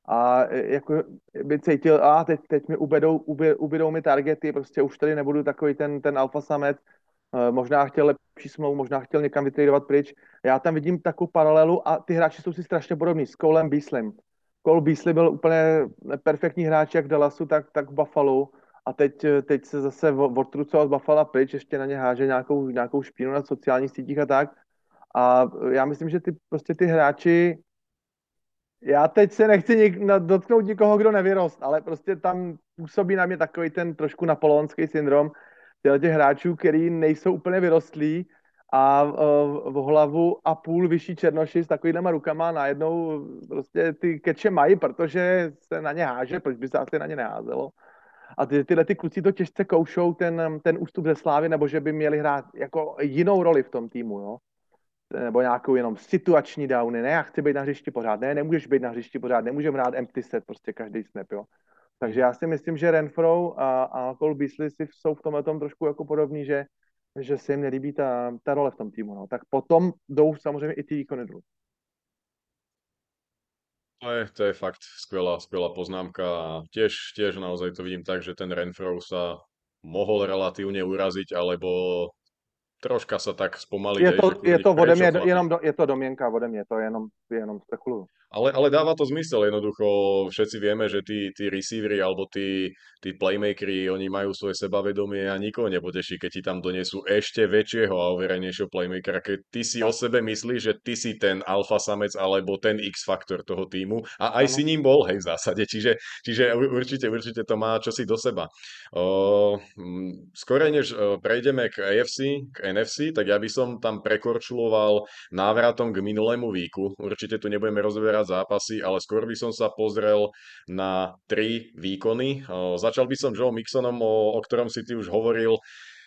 a e, jako by cítil, a teď, teď mi ubedou, ubě, ubydou mi targety, prostě už tady nebudu takový ten, ten alfa samec, e, možná chtěl lepší smlouvu, možná chtěl někam vytradovat pryč. Já tam vidím takovou paralelu a ty hráči jsou si strašně podobní s Colem Beaslem. Cole Beasley byl úplně perfektní hráč jak v Dallasu, tak, tak v Buffalo a teď, teď se zase odtrucoval z Buffalo pryč, ještě na ně háže nějakou, nějakou špínu na sociálních sítích a tak. A já myslím, že ty, prostě ty hráči, já teď se nechci nik, na, dotknout nikoho, kdo nevyrost, ale prostě tam působí na mě takový ten trošku napoleonský syndrom těch hráčů, který nejsou úplně vyrostlí a uh, v hlavu a půl vyšší černoši s takovýhlema rukama najednou prostě ty keče mají, protože se na ně háže, proč by se asi na ně neházelo. A ty, tyhle ty kluci to těžce koušou, ten, ten ústup ze Slávy, nebo že by měli hrát jako jinou roli v tom týmu, jo. Nebo nějakou jenom situační downy, ne, já chci být na hřišti pořád, ne, nemůžeš být na hřišti pořád, nemůžeme hrát empty set, prostě každý snap, jo. Takže já si myslím, že Renfro a, a Cole Beasley si jsou v tomhle tom trošku jako podobný, že, že se jim nelíbí ta, ta role v tom týmu, no. Tak potom jdou samozřejmě i ty výkony dolů. To je, to je fakt skvelá, skvelá poznámka a tiež, tiež naozaj to vidím tak, že ten Renfro sa mohol relatívne uraziť, alebo troška sa tak spomaliť, Je hej, to, že je chvíli, to ode prečo mě, chlapi? jenom do, je to domněnka ode mě, to je jenom, jenom spekuluju. Ale, ale dáva to zmysel, jednoducho všetci vieme, že tí, tí receivery alebo tí, tí playmakeri, oni majú svoje sebavedomie a nikoho nepoteší, keď ti tam donesú ešte väčšieho a overenejšieho playmakera. Keď ty si o Tak, sebe myslíš, že ty si ten alfa samec alebo ten X-faktor toho týmu a aj si ano. ním bol, hej, v zásade. Čiže, čiže u- určite, určite to má čosi do seba. O, mm, skôr než o, prejdeme k A F C, k N F C, tak ja by som tam prekorčuloval návratom k minulému víku. Určite tu nebudeme rozoberať zápasy, ale skôr by som sa pozrel na tri výkony. O, začal by som Joe Mixonom, o, o ktorom si ty už hovoril.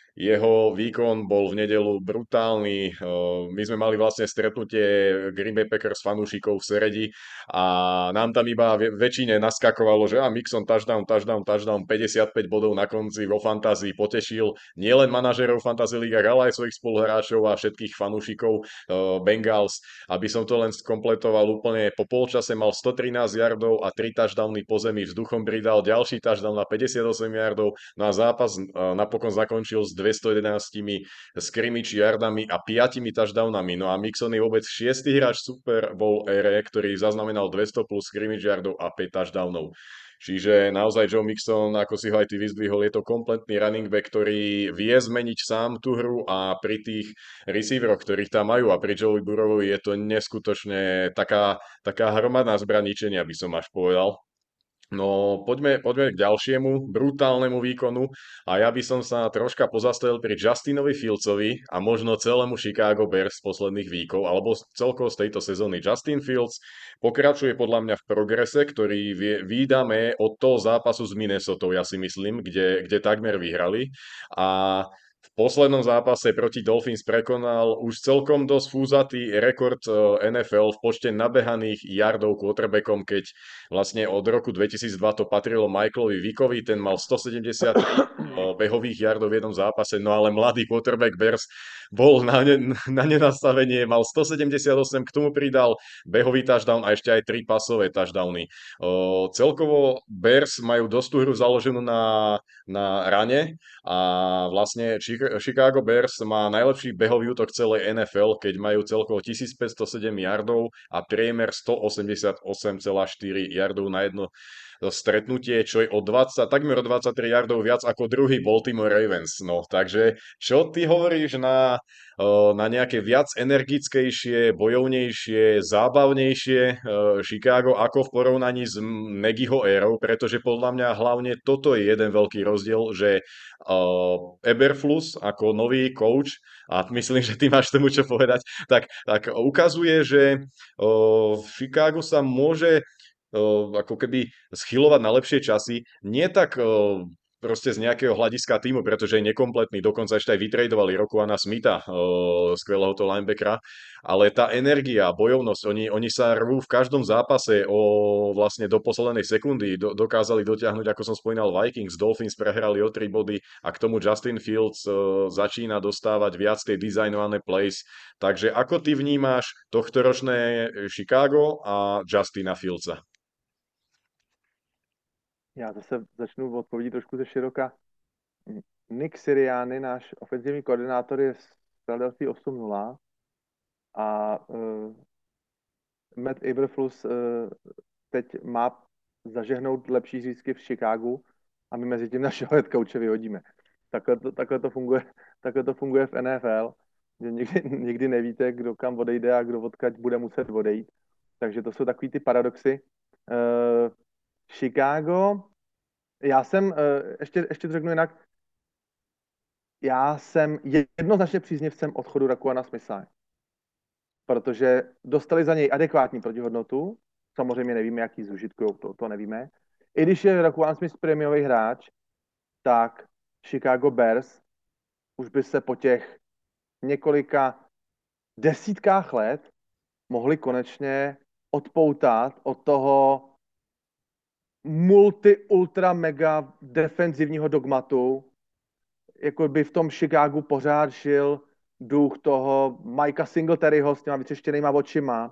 Jeho výkon bol v nedelu brutálny. My sme mali vlastne stretnutie Green Bay Packers fanúšikov v Seredi a nám tam iba väčšine naskakovalo, že a Mixon touchdown, touchdown, touchdown, päťdesiatpäť bodov na konci vo fantázii potešil nielen manažerov fantasy ligách, ale aj svojich spoluhráčov a všetkých fanúšikov Bengals. Aby som to len skompletoval úplne, po polčase mal stotrinásť yardov a tri touchdowny po zemi, vzduchom pridal ďalší touchdown na päťdesiatosem yardov, no a zápas napokon zakončil s dvestojedenásť scrimmage yardami a piatimi touchdownami. No a Mixon je vôbec šiestý hráč Super Bowl ére, ktorý zaznamenal dvesto plus scrimmage yardov a päť touchdownov. Čiže naozaj Joe Mixon, ako si ho aj ty vyzdvihol, je to kompletný running back, ktorý vie zmeniť sám tú hru a pri tých receiveroch, ktorých tam majú a pri Joey Burrowovi je to neskutočne taká, taká hromadná zbraničenia, by som až povedal. No, poďme, poďme k ďalšiemu brutálnemu výkonu a ja by som sa troška pozastavil pri Justinovi Fieldsovi a možno celému Chicago Bears z posledných víkov alebo celkovo z tejto sezóny. Justin Fields pokračuje podľa mňa v progrese, ktorý vie, výdame od toho zápasu s Minnesotou, ja si myslím, kde, kde takmer vyhrali a v poslednom zápase proti Dolphins prekonal už celkom dosť fúzatý rekord N F L v počte nabehaných yardov quarterbackom, keď vlastne od roku dvetisícdva to patrilo Michaelovi Vickovi, ten mal stosedemdesiattri behových yardov v jednom zápase, no ale mladý quarterback Bears bol na, ne, na nenastavenie, mal stosedemdesiatosem, k tomu pridal behový touchdown a ešte aj tri pasové touchdowny. O, celkovo Bears majú dosť tú hru založenú na, na rane a vlastne Chicago Bears má najlepší behový útok celej N F L, keď majú celkovo tisícpäťstosedem yardov a priemer stoosemdesiatosem celá štyri yardov na jedno stretnutie, čo je o dvadsať, takmer o dvadsaťtri yardov viac ako druhý Baltimore Ravens. No, takže čo ty hovoríš na, na nejaké viac energickejšie, bojovnejšie, zábavnejšie Chicago ako v porovnaní s Nagyho érou, pretože podľa mňa hlavne toto je jeden veľký rozdiel, že uh, Eberflus ako nový coach, a myslím, že ty máš tomu čo povedať, tak, tak ukazuje, že uh, v Chicagu sa môže uh, ako keby schylovať na lepšie časy, nie tak uh, proste z nejakého hľadiska týmu, pretože je nekompletný, dokonca ešte aj vytradovali Rokuana Smitha, uh, skvelého to linebackera, ale tá energia, bojovnosť, oni, oni sa rvú v každom zápase o vlastne do poslednej sekundy, do, dokázali dotiahnuť, ako som spomínal, Vikings, Dolphins prehrali o tri body a k tomu Justin Fields uh, začína dostávať viac tej designované plays. Takže ako ty vnímáš tohto ročné Chicago a Justina Fieldsa? Já zase začnu odpovědět trošku ze široka. Nick Sirianni, náš ofenzivní koordinátor, je z Philadelphia osm nula a uh, Matt Eberflus uh, teď má zažehnout lepší zisky v Chicagu a my mezi tím našeho head coache vyhodíme. Takhle to, takhle to funguje, takhle to funguje v N F L, že nikdy, nikdy nevíte, kdo kam odejde a kdo odkud bude muset odejít. Takže to jsou takový ty paradoxy. Uh, Chicago, já jsem, uh, ještě, ještě to řeknu jinak, já jsem jednoznačně příznivcem odchodu Rakuana Smitha, protože dostali za něj adekvátní protihodnotu, samozřejmě nevíme, jaký zužitkujou, to, to nevíme. I když je Rakuan Smith prémiový hráč, tak Chicago Bears už by se po těch několika desítkách let mohli konečně odpoutat od toho multi, ultra, mega defenzivního dogmatu, jako by v tom Chicagu pořád žil duch toho Mikea Singletaryho s těma vytřeštěnýma očima.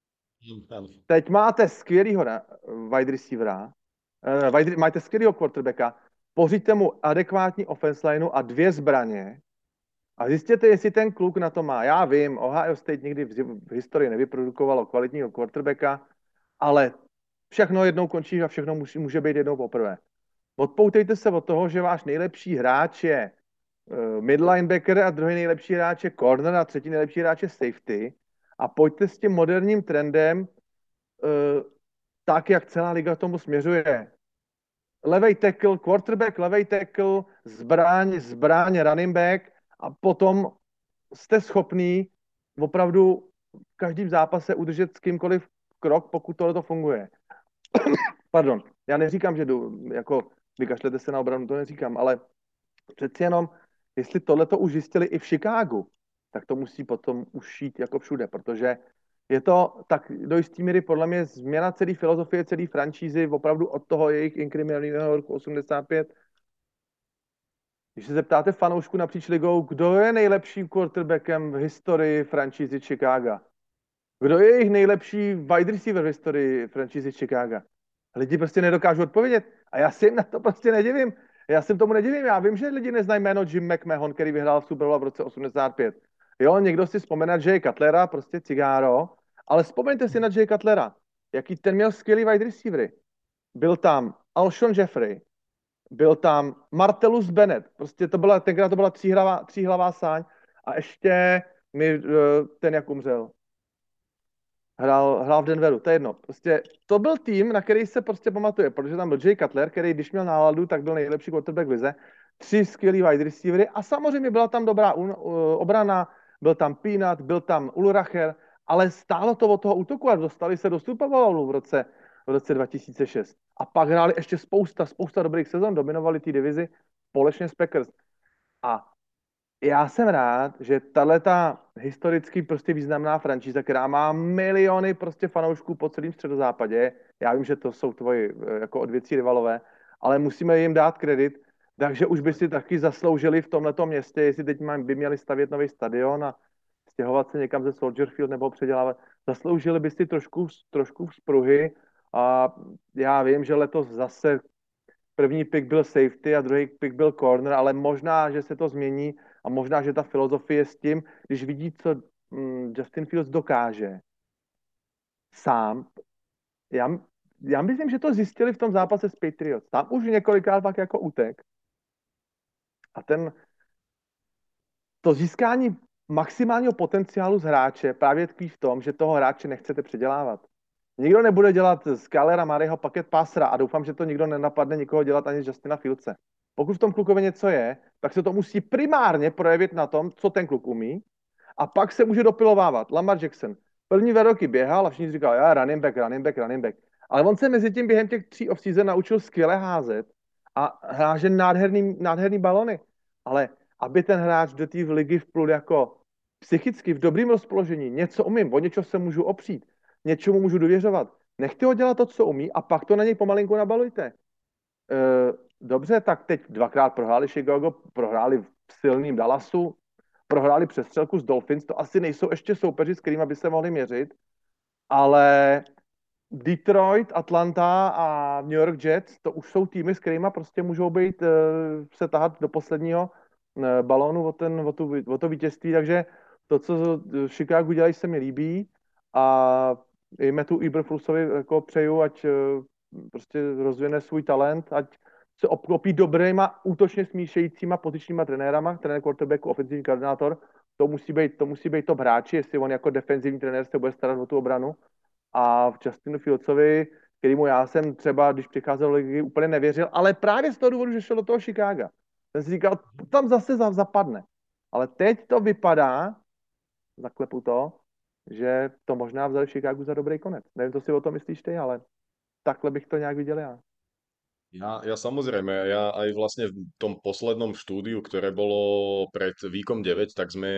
Teď máte skvělýho wide receivera, uh, wide, máte skvělýho quarterbacka, pořiďte mu adekvátní offense lineu a dvě zbraně a zjistěte, jestli ten kluk na to má. Já vím, Ohio State nikdy v, v historii nevyprodukovalo kvalitního quarterbacka, ale všechno jednou končí a všechno může, může být jednou poprvé. Odpoutejte se od toho, že váš nejlepší hráč je uh, mid linebacker a druhý nejlepší hráč je corner a třetí nejlepší hráč je safety a pojďte s tím moderním trendem uh, tak, jak celá liga tomu směřuje. Levej tackle, quarterback, levej tackle, zbraň, zbraň, running back a potom jste schopný opravdu v každém zápase udržet s kýmkoliv krok, pokud tohle to funguje. Pardon, já neříkám, že jdu, jako vykašlete se na obranu, to neříkám, ale přeci jenom, jestli tohle to už zjistili i v Chicagu, tak to musí potom už šít jako všude, protože je to tak do jistý míry podle mě změna celé filozofie, celé franšízy, opravdu od toho jejich inkriminálního roku osmdesát pět. Když se zeptáte fanoušku napříč ligou, kdo je nejlepším quarterbackem v historii franšízy Chicago? Kdo je jejich nejlepší wide receiver v historii franšízy Chicago? Lidi prostě nedokážou odpovědět. A já si jim na to prostě nedivím. Já si tomu nedivím. Já vím, že lidi neznají jméno Jim McMahon, který vyhrál v Super Bowl v roce osmdesát pět. Jo, někdo si vzpomene na Jay Cutlera, prostě cigáro, ale vzpomeňte si na Jay Cutlera. Jaký ten měl skvělý wide receivery. Byl tam Alshon Jeffrey, byl tam Martellus Bennett, prostě to byla, tenkrát to byla tříhlavá, tříhlavá sáň a ještě mi ten, jak umřel, hrál, hrál v Denveru, to je jedno. Prostě to byl tým, na který se prostě pamatuje, protože tam byl Jay Cutler, který když měl náladu, tak byl nejlepší quarterback v lize, tři skvělý wide receivery a samozřejmě byla tam dobrá un, uh, obrana, byl tam Peanut, byl tam Ulracher, ale stálo to od toho útoku a dostali se do Super Bowlu v roce, v roce dva tisíce šest. A pak hráli ještě spousta, spousta dobrých sezon, dominovali té divizi společně s Packers. A já jsem rád, že tato historicky prostě významná franšíza, která má miliony prostě fanoušků po celém středozápadě, já vím, že to jsou tvoji jako odvěcí rivalové, ale musíme jim dát kredit, takže už by si taky zasloužili v tomhletom městě, jestli teď by měli stavět nový stadion a stěhovat se někam ze Soldier Field nebo předělávat, zasloužili by si trošku, trošku vzpruhy a já vím, že letos zase první pick byl safety a druhý pick byl corner, ale možná, že se to změní a možná, že ta filozofie s tím, když vidí, co mm, Justin Fields dokáže sám, já, já myslím, že to zjistili v tom zápase s Patriots. Tam už několikrát pak jako útek. A ten to získání maximálního potenciálu z hráče právě tkví v tom, že toho hráče nechcete předělávat. Nikdo nebude dělat z Kylera Murrayho paket passera a doufám, že to nikdo nenapadne nikoho dělat ani z Justina Fieldse. Pokud v tom klukově něco je, tak se to musí primárně projevit na tom, co ten kluk umí a pak se může dopilovávat. Lamar Jackson. První dva roky běhal a všichni říkali, já running back, running back, running back. Ale on se mezi tím během těch tří off-season naučil skvěle házet a háže nádherný, nádherný balony. Ale aby ten hráč do té ligy vplul jako psychicky v dobrým rozpoložení, něco umím, o něčo se můžu opřít, něčemu můžu důvěřovat. Nechte ho dělat to, co umí a pak to na něj pomalinku nabalujte. E, dobře, tak teď dvakrát prohráli Chicago, prohráli v silným Dallasu, prohráli přestřelku z Dolphins, to asi nejsou ještě soupeři, s kterými by se mohli měřit, ale Detroit, Atlanta a New York Jets, to už jsou týmy, s kterými prostě můžou být, se tahat do posledního balónu o, ten, o, tu, o to vítězství, takže to, co Chicago dělají, se mi líbí a i Mattu Eberflussovi jako přeju, ať prostě rozvine svůj talent, ať se obklopí dobrýma, útočně smíšejícíma pozičníma trenérama, trenér quarterbacku, ofenzivní koordinátor, to musí být, to musí být top hráči, jestli on jako defenzivní trenér se bude starat o tu obranu. A v Justinu Fieldsovi, kterýmu já jsem třeba, když přicházel do ligy, úplně nevěřil, ale právě z toho důvodu, že šel do toho Chicaga. Jsem si říkal, tam zase zapadne. Ale teď to vypadá, zaklepu to, že to možná vzali v Chicagu za dobrý konec. Nevím, co si o tom myslíš ty, ale takhle bych to nějak viděl já. Ja, ja samozrejme, ja aj vlastne v tom poslednom štúdiu, ktoré bolo pred Víkom deväť, tak sme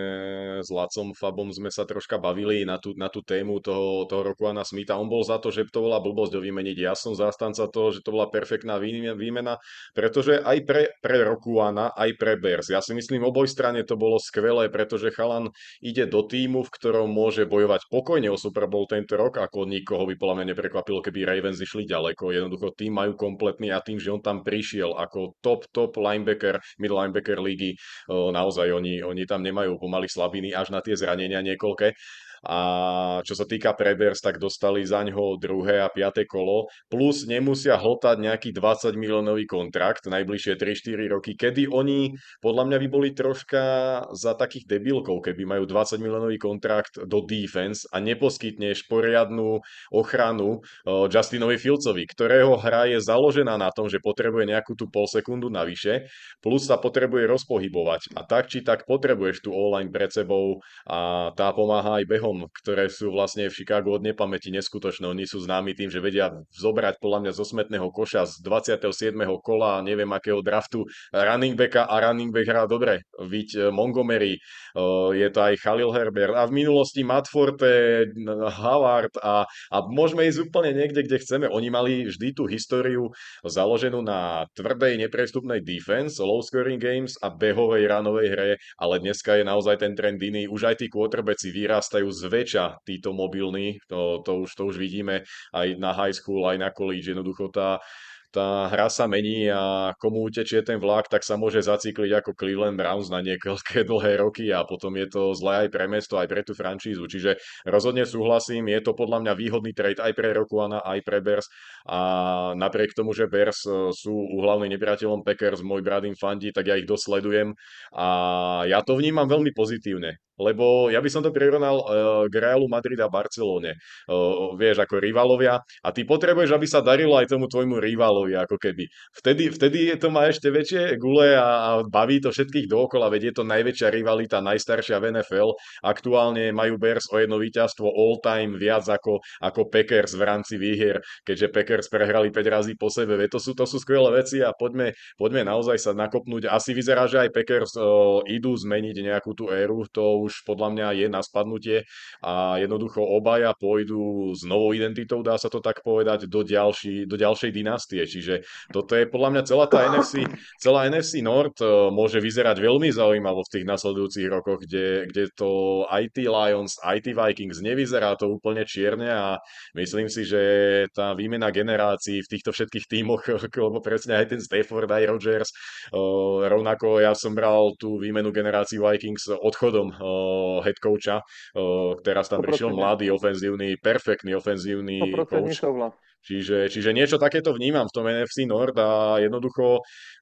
s Lacom Fabom sme sa troška bavili na tú, na tú tému toho, toho Rokuana Smitha. On bol za to, že to bola blbosť ho vymeniť. Ja som zástanca toho, že to bola perfektná výmena, pretože aj pre, pre Rokuana, aj pre Bears. Ja si myslím, oboj strane to bolo skvelé, pretože chalan ide do týmu, v ktorom môže bojovať pokojne o Super Bowl tento rok, ako nikoho by podľa mňa neprekvapilo, keby Ravens išli ďaleko. Jednoducho tým majú kompletný a tým, že on tam prišiel ako top, top linebacker, middle linebacker lígy, naozaj oni, oni tam nemajú pomaly slabiny až na tie zranenia niekoľké. A čo sa týka Prebers, tak dostali za ňo druhé a piate kolo, plus nemusia hltať nejaký dvadsať miliónový kontrakt najbližšie tri štyri roky, kedy oni podľa mňa by boli troška za takých debilkov, keby majú dvadsať miliónový kontrakt do defense a neposkytneš poriadnu ochranu uh, Justinovi Fieldsovi, ktorého hra je založená na tom, že potrebuje nejakú tú pol sekundu navyše, plus sa potrebuje rozpohybovať. A tak či tak potrebuješ tú online pred sebou a tá pomáha aj behom, ktoré sú vlastne v Chicagu od nepamäti neskutočné. Oni sú známi tým, že vedia zobrať podľa mňa zo smetného koša z dvadsiateho siedmeho kola, neviem akého draftu, running backa a running back hrá dobre. Viď Montgomery, je to aj Khalil Herbert a v minulosti Matt Forte, Howard a, a môžeme ísť úplne niekde, kde chceme. Oni mali vždy tú históriu založenú na tvrdej, neprestupnej defense, low scoring games a behovej ranovej hre, ale dneska je naozaj ten trend iný. Už aj tí quarterbacki vyrastajú zväčša títo mobilní, to, to, už, to už vidíme aj na high school, aj na college. Jednoducho tá, tá hra sa mení a komu utečie ten vlak, tak sa môže zacykliť ako Cleveland Browns na niekoľké dlhé roky a potom je to zlé aj pre mesto, aj pre tú francízu. Čiže rozhodne súhlasím, je to podľa mňa výhodný trade aj pre Rokuana, aj pre Bears a napriek tomu, že Bears sú úhlavným nepriateľom Packers, môj brat im fandí, tak ja ich dosledujem a ja to vnímam veľmi pozitívne. Lebo ja by som to prirovnal uh, k Realu Madrid a Barcelone. Uh, vieš, ako rivalovia a ty potrebuješ, aby sa darilo aj tomu tvojmu rivalovi, ako keby. Vtedy, vtedy to má ešte väčšie gule a, a baví to všetkých dookola, veď je to najväčšia rivalita, najstaršia v en ef el. Aktuálne majú Bears o jedno víťazstvo all time viac ako, ako Packers v rámci výhier, keďže Packers prehrali päť razy po sebe. Veď to sú, to sú skvelé veci a poďme, poďme naozaj sa nakopnúť. Asi vyzerá, že aj Packers uh, idú zmeniť nejakú tú éru, to už podľa mňa je na spadnutie a jednoducho obaja pôjdu s novou identitou, dá sa to tak povedať, do, ďalší, do ďalšej dynastie. Čiže toto je podľa mňa celá tá en ef sí, celá en ef sí North môže vyzerať veľmi zaujímavo v tých nasledujúcich rokoch, kde, kde to aj tí Lions, aj tí Vikings nevyzerá to úplne čierne a myslím si, že tá výmena generácií v týchto všetkých tímoch, lebo presne aj ten Stafford, aj Rodgers, rovnako ja som bral tú výmenu generácií Vikings odchodom head coacha. Teraz tam prišiel mladý, ofenzívny, perfektný ofenzívny coach. Souhlas. Čiže, čiže niečo takéto vnímam v tom en ef sí Nord a jednoducho,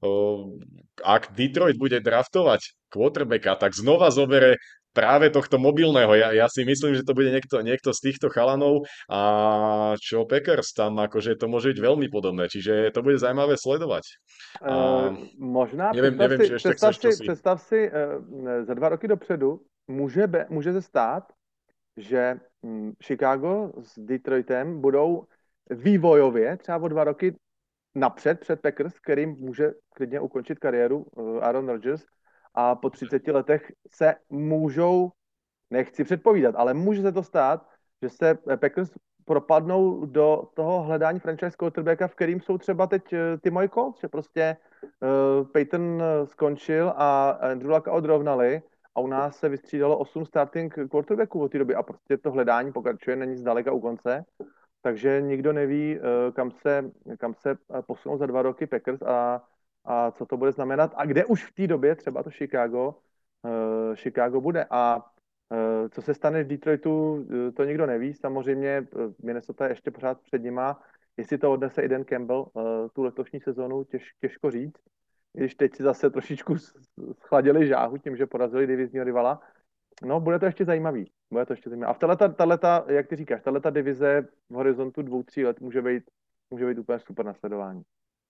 ak Detroit bude draftovať quarterbacka, tak znova zobere práve tohto mobilného. Ja, ja si myslím, že to bude niekto, niekto z týchto chalanov a čo Packers tam, akože to môže byť veľmi podobné. Čiže to bude zaujímavé sledovať. A uh, možná neviem, představ neviem, si, či ešte představ chceš si, čosi. představ si uh, za dva roky dopředu může, be, může se stát, že hm, Chicago s Detroitem budou vývojově třeba o dva roky napřed před Packers, kterým může klidně ukončit kariéru uh, Aaron Rodgers a po třiceti letech se můžou, nechci předpovídat, ale může se to stát, že se Packers propadnou do toho hledání franchise quarterbacka, v kterým jsou třeba teď ty moje Colts, že prostě uh, Peyton skončil a Andrew Luck odrovnali a u nás se vystřídalo osm starting quarterbacků od té doby a prostě to hledání pokračuje, není zdaleka u konce takže nikdo neví, eh, kam se, kam se eh, posunou za dva roky Packers a, a co to bude znamenat a kde už v té době třeba to Chicago, eh, Chicago bude. A eh, co se stane v Detroitu, eh, to nikdo neví. Samozřejmě eh, Minnesota je ještě pořád před nima. Jestli to odnese i Dan Campbell eh, tu letošní sezonu, těž, těžko říct. Když teď si zase trošičku schladili žáhu tím, že porazili divizního rivala. No, bude to ještě zajímavý. Bude to ještě zajímavý. A v tato, tato, jak ty říkáš, tato divize v horizontu dvou, tří let může být, může být úplně super nasledování.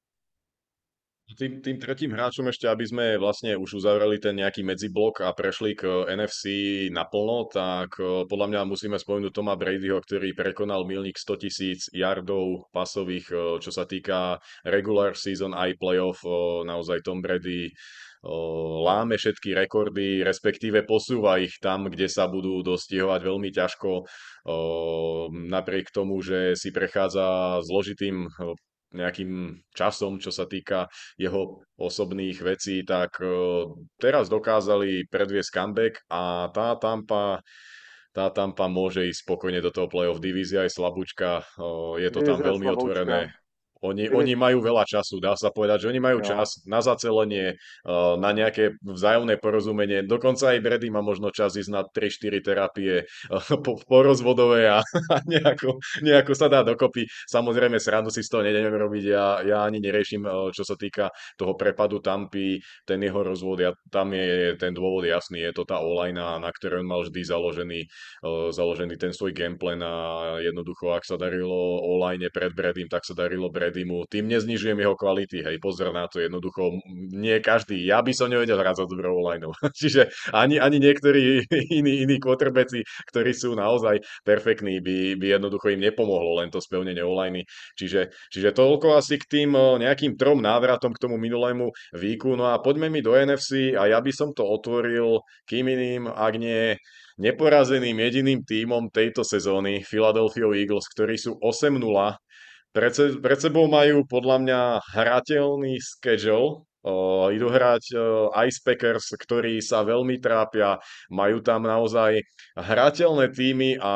Tým, tým tretím hráčom ešte, aby sme vlastne už uzavreli ten nejaký medziblok a prešli k en ef cé naplno, tak eh, podľa mňa musíme spomenúť Toma Bradyho, ktorý prekonal milník sto tisíc yardov pasových, eh, čo sa týka regular season aj playoff. eh, Naozaj Tom Brady eh, láme všetky rekordy, respektíve posúva ich tam, kde sa budú dostihovať veľmi ťažko. eh, Napriek tomu, že si prechádza zložitým eh, nejakým časom, čo sa týka jeho osobných vecí, tak eh, teraz dokázali predviesť comeback a tá Tampa, tá Tampa môže ísť spokojne do toho playoff. Divízia je slabúčka, eh, je to tam Divize veľmi otvorené. slaboučka. Oni, Divize, oni majú veľa času, dá sa povedať, že oni majú jo. čas na zacelenie, eh, na nejaké vzájomné porozumenie. Dokonca aj Brady má možno čas ísť na tri štyri terapie eh, po, porozvodové a, a nejako, nejako sa dá dokopy. Samozrejme, srandu si z toho nedem robiť, ja, ja ani neriešim, eh, čo sa týka toho prepadu Tampy, ten jeho rozvod, ja, tam je ten dôvod jasný, je to tá online, na ktorej on mal vždy založený, eh, založený ten svoj gameplan a jednoducho, ak sa darilo online pred Bradym, tak sa darilo Bradymu. Tým neznižujem jeho kvality, hej, pozor na to, jednoducho nie každý, ja by som nevedel hrať za dobrou online. Čiže ani, ani niektorí iní, iní quarterbacki, ktorí sú naozaj perfektní, by, by jednoducho im nepomohlo len to spevnenie online. Čiže, čiže toľko asi k tým eh, nejakým trom návratom k tomu minulému výku. No a poďme mi do en ef cé a ja by som to otvoril kým iným, ak nie neporazeným jediným tímom tejto sezóny, Philadelphia Eagles, ktorí sú osem nula. Pred, se, pred sebou majú podľa mňa hrateľný schedule. O, idú hrať o, Ice Packers, ktorí sa veľmi trápia, majú tam naozaj hrateľné týmy a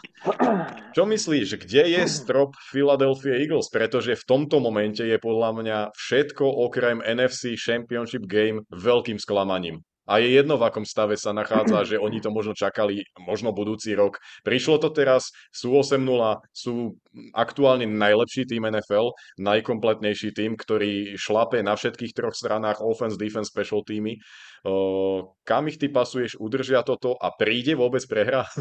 čo myslíš, kde je strop Philadelphia Eagles? Pretože v tomto momente je podľa mňa všetko okrem en ef cé Championship Game veľkým sklamaním. A je jedno, v akom stave sa nachádza, že oni to možno čakali, možno budúci rok. Prišlo to teraz, sú osem nula, sú aktuálne najlepší tým en ef el, najkompletnejší tým, ktorý šlape na všetkých troch stranách offense, defense, special týmy. Uh, kam ich ty pasuješ, udržia toto a príde vôbec prehra?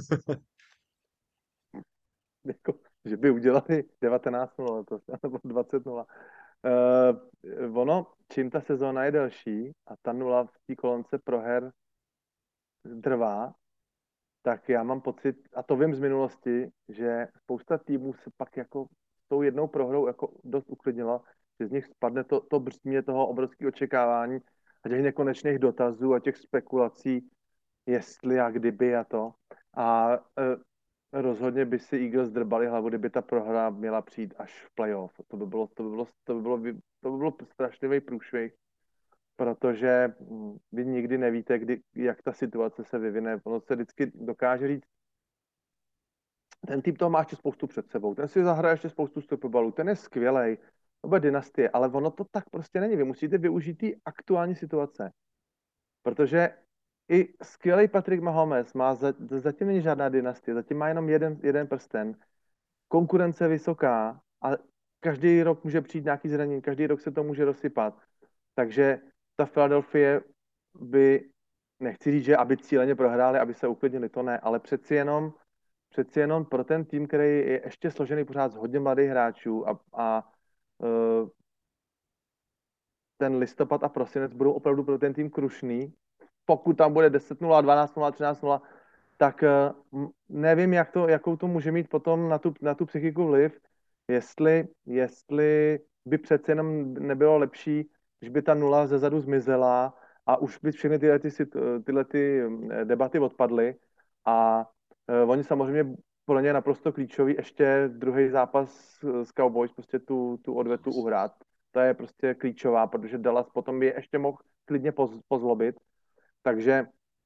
Jako, že by udělali devatenáct nula to, nebo dvacet nula. Uh, ono, čím ta sezóna je delší a ta nula v té kolonce proher trvá, tak já mám pocit, a to vím z minulosti, že spousta týmů se pak jako s tou jednou prohrou jako dost uklidnila, že z nich spadne to, to břímě toho obrovského očekávání a těch nekonečných dotazů a těch spekulací, jestli a kdyby a to. A e, rozhodně by si Eagles drbali hlavu, kdyby ta prohra měla přijít až v playoff. To by bylo, to by bylo, to by bylo, to by bylo strašlivý průšvih, protože mm, vy nikdy nevíte, kdy, jak ta situace se vyvine. Ono se vždycky dokáže říct, ten tým toho má ještě spoustu před sebou, ten si zahraje ještě spoustu stopobalů, ten je skvělej, to bude dynastie, ale ono to tak prostě není. Vy musíte využít ty aktuální situace, protože i skvělý Patrick Mahomes má, za, zatím není žádná dynastie, zatím má jenom jeden, jeden prsten, konkurence je vysoká a každý rok může přijít nějaký zranění, každý rok se to může rozsypat. Takže ta Philadelphia by, nechci říct, že aby cíleně prohráli, aby se uklidnili, to ne, ale přeci jenom, přeci jenom pro ten tým, který je ještě složený pořád z hodně mladých hráčů a, a uh, ten listopad a prosinec budou opravdu pro ten tým krušný. Pokud tam bude deset nula, dvanáct nula, třináct nula, tak uh, nevím, jak to, jakou to může mít potom na tu, na tu psychiku vliv, jestli, jestli by přece jenom nebylo lepší, když by ta nula zezadu zmizela a už by všechny tyhle, ty, tyhle ty debaty odpadly a uh, oni samozřejmě pro ně je naprosto klíčový ještě druhý zápas s Cowboys, prostě tu, tu odvetu uhrát. To je prostě klíčová, protože Dallas potom by je ještě mohl klidně poz, pozlobit. Takže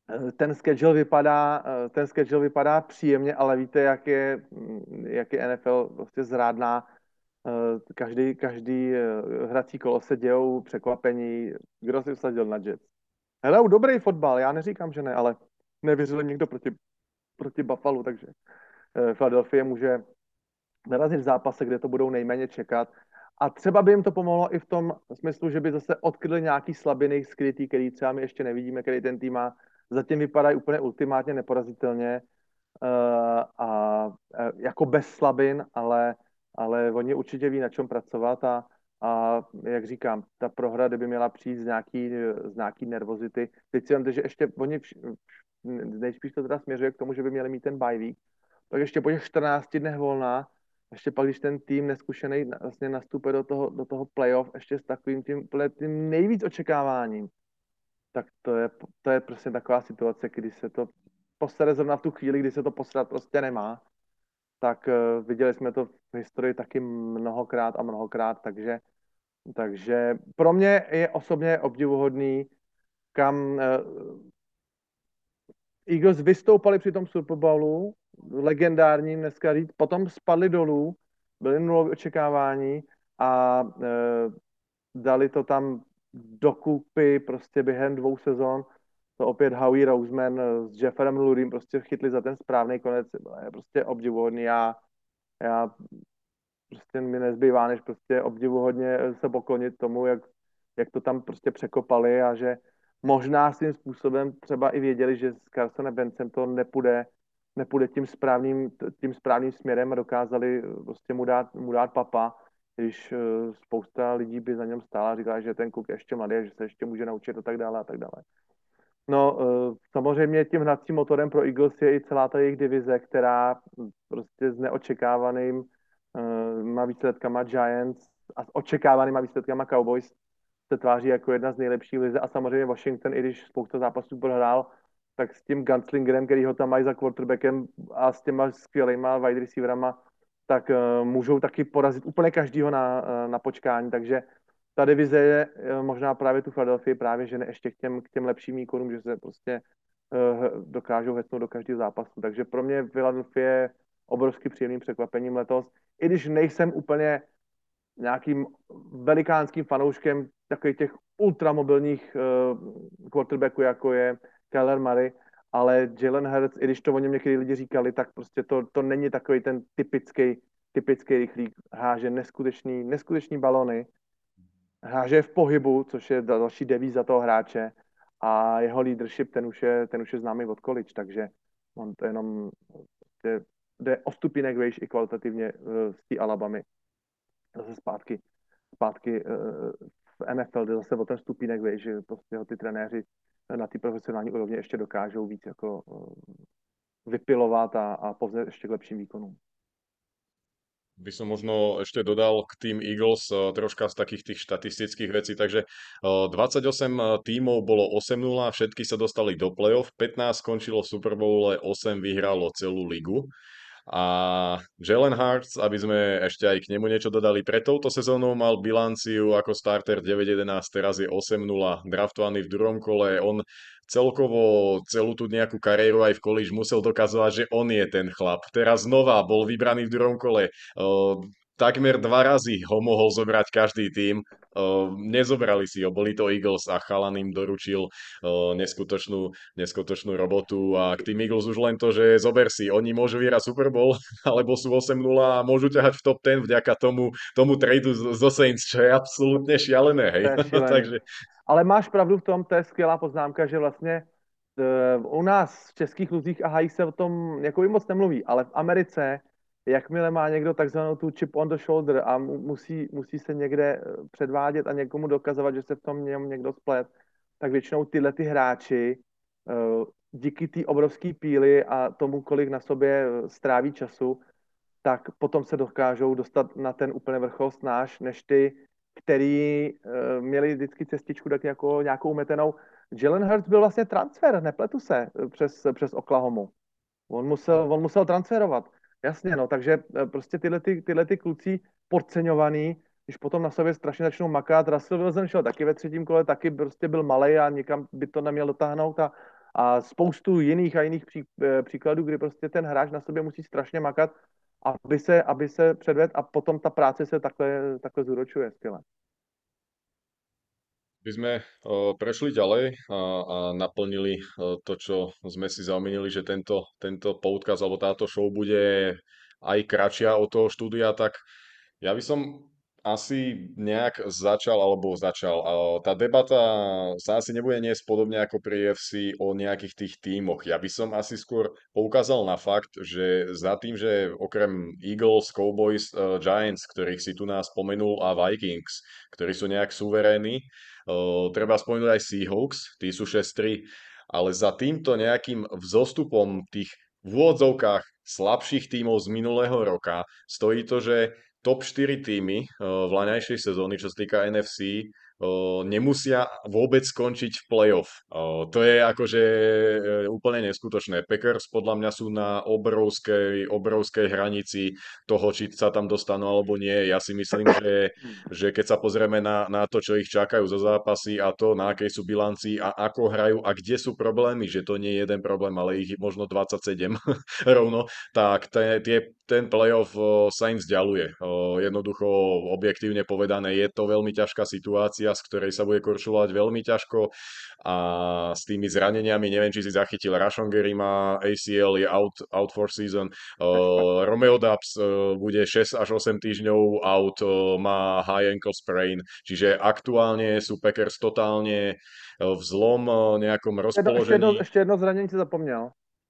ten schedule vypadá, ten schedule vypadá příjemně, ale víte, jak je, jak je N F L prostě zrádná. Každý, každý hrací kolo se dějou překvapení. Kdo si vsadil na Jets? Hele, dobrý fotbal, já neříkám, že ne, ale nevěřil jim někdo proti, proti Buffalo, takže Philadelphia může narazit v zápase, kde to budou nejméně čekat. A třeba by jim to pomohlo i v tom smyslu, že by zase odkryli nějaký slabiny skrytý, který třeba my ještě nevidíme, který ten tým má. Zatím vypadají úplně ultimátně neporazitelně uh, a uh, jako bez slabin, ale, ale oni určitě ví, na čem pracovat a, a jak říkám, ta prohra, kdyby měla přijít z nějaký, z nějaký nervozity. Teď si vemte, že ještě oni vš- nejspíš to teda směřuje k tomu, že by měli mít ten bye week, tak ještě po těch čtrnácti dnech volná, ještě pak, když ten tým neskušený vlastně nastupuje do toho, do toho playoff, ještě s takovým tím, tím nejvíc očekáváním, tak to je, to je prostě taková situace, kdy se to posere zrovna v tu chvíli, kdy se to posrat prostě nemá. Tak uh, viděli jsme to v historii taky mnohokrát a mnohokrát, takže, takže pro mě je osobně obdivuhodný, kam uh, Eagles vystoupali při tom Super Bowlu, legendárním dneska říct, potom spadli dolů, byly nulové očekávání a e, dali to tam dokupy prostě během dvou sezon. To opět Howie Roseman s Jefferem Lurym prostě chytli za ten správný konec. Je prostě obdivuhodný. Já, já prostě mi nezbývá, než prostě obdivuhodně se poklonit tomu, jak, jak to tam prostě překopali a že možná svým způsobem třeba i věděli, že s Carsonem Bencem to nepůjde, nepůjde tím správným, tím správným směrem a dokázali prostě mu dát, mu dát papa, když spousta lidí by za něm stála a říkala, že ten kluk je ještě mladý, že se ještě může naučit a tak dále a tak dále. No, samozřejmě tím hnacím motorem pro Eagles je i celá ta jejich divize, která prostě s neočekávaným má výsledkama Giants a s očekávanýma výsledkama Cowboys se tváří jako jedna z nejlepších lize a samozřejmě Washington, i když spousta zápasů prohrál, tak s tím gunslingerem, který ho tam mají za quarterbackem a s těma skvělýma wide receiverama, tak uh, můžou taky porazit úplně každýho na, uh, na počkání, takže ta divize je uh, možná právě tu Philadelphia právě žene ještě k těm, k těm lepším výkonům, že se prostě uh, dokážou hecnout do každého zápasu. Takže pro mě Philadelphia je obrovský příjemným překvapením letos, i když nejsem úplně nějakým velikánským fanouškem takových těch ultramobilních uh, quarterbacků, jako je Kyler Murray, ale Jalen Hurts, i když to o něm některý lidi říkali, tak prostě to, to není takový ten typický, typický rychlík. Háže neskutečný, neskutečný balony, háže v pohybu, což je další devíza toho hráče a jeho leadership, ten už je, ten už je známý od college, takže on to jenom prostě jde o stupínek vejš i kvalitativně uh, z té Alabamy zase zpátky, zpátky uh, v N F L, kde zase o ten stupínek vejš, že prostě ho ty trenéři na té profesionální úrovni ještě dokážou víc jako uh, vypilovat a, a povzet ještě k lepším výkonům. By som možno ešte dodal k tým Eagles uh, troška z takých tých štatistických vecí, takže uh, dvadsaťosem tímov bolo osem nula, všetky sa dostali do play-off, pätnásť skončilo v Super Bowle, osem vyhralo celú ligu. A Jalen Hurts, aby sme ešte aj k nemu niečo dodali, pre touto sezónou mal bilanciu ako starter deväť jedenásť, teraz je osem nula, draftovaný v druhom kole. On celkovo celú tú nejakú kariéru aj v college musel dokazovať, že on je ten chlap. Teraz znova bol vybraný v druhom kole. Uh, takmer dva razy ho mohol zobrať každý tým. Uh, nezobrali si ho, boli to Eagles a chalan im doručil uh, neskutočnú, neskutočnú robotu a k tým Eagles už len to, že zober si, oni môžu vyhrať Super Bowl, alebo sú osem nula a môžu ťahať v top desať vďaka tomu, tomu tradu zo Saints, čo je absolútne šialené, hej. To je šílený. Takže... Ale máš pravdu v tom, to je skvělá poznámka, že vlastně u nás v českých luzích a hají se o tom jako i moc nemluví, ale v Americe, jakmile má někdo takzvanou tu chip on the shoulder a musí, musí se někde předvádět a někomu dokazovat, že se v tom něm někdo splet, tak většinou tyhle ty hráči díky té obrovské píly a tomu, kolik na sobě stráví času, tak potom se dokážou dostat na ten úplně vrchol snáš, než ty, který měli vždycky cestičku tak jako nějakou metenou. Jalen Hurts byl vlastně transfer, nepletu se, přes, přes Oklahomu. On musel, on musel transferovat. Jasně, no, takže prostě tyhle, ty, tyhle ty kluci podceňovaný, když potom na sobě strašně začnou makat. Russell Wilson šel taky ve třetím kole, taky prostě byl malej a nikam by to neměl dotáhnout a, a spoustu jiných a jiných pří, příkladů, kdy prostě ten hráč na sobě musí strašně makat, aby se, aby se předvedl a potom ta práce se takhle, takhle zúročuje skvěle. By sme uh, prešli ďalej a, a naplnili uh, to, čo sme si zaumienili, že tento, tento podcast alebo táto show bude aj kratšia od toho štúdia, tak ja by som asi nejak začal, alebo začal. A tá debata sa asi nebude niesť podobne ako pri ú ef cé o nejakých tých tímoch. Ja by som asi skôr poukázal na fakt, že za tým, že okrem Eagles, Cowboys, uh, Giants, ktorých si tu nás spomenul, a Vikings, ktorí sú nejak suverénni, uh, treba spomenúť aj Seahawks, tí sú šesť tri, ale za týmto nejakým vzostupom tých v úvodzovkách slabších tímov z minulého roka stojí to, že top štyri týmy v laňajšej sezóny, čo sa týka en ef cé, nemusia vôbec skončiť v playoff. To je akože úplne neskutočné. Packers podľa mňa sú na obrovskej, obrovskej hranici toho, či sa tam dostanú alebo nie. Ja si myslím, že, že keď sa pozrieme na, na to, čo ich čakajú zo zápasy a to, na akej sú bilancii a ako hrajú a kde sú problémy, že to nie je jeden problém, ale ich možno dvadsaťsedem rovno, tak tie, tie, ten playoff sa im vzdialuje. Jednoducho, objektívne povedané, je to veľmi ťažká situácia, z ktorej sa bude korčulovať veľmi ťažko a s tými zraneniami, neviem, či si zachytil, Rashawn Gary má á cé el, je out, out for season, uh, Romeo Dubs uh, bude šesť až osem týždňov out, uh, má high ankle sprain, čiže aktuálne sú Packers totálne v zlom uh, nejakom Jedno, ještě, jedno, rozpoložení. ještě jedno zranění si zapomněl.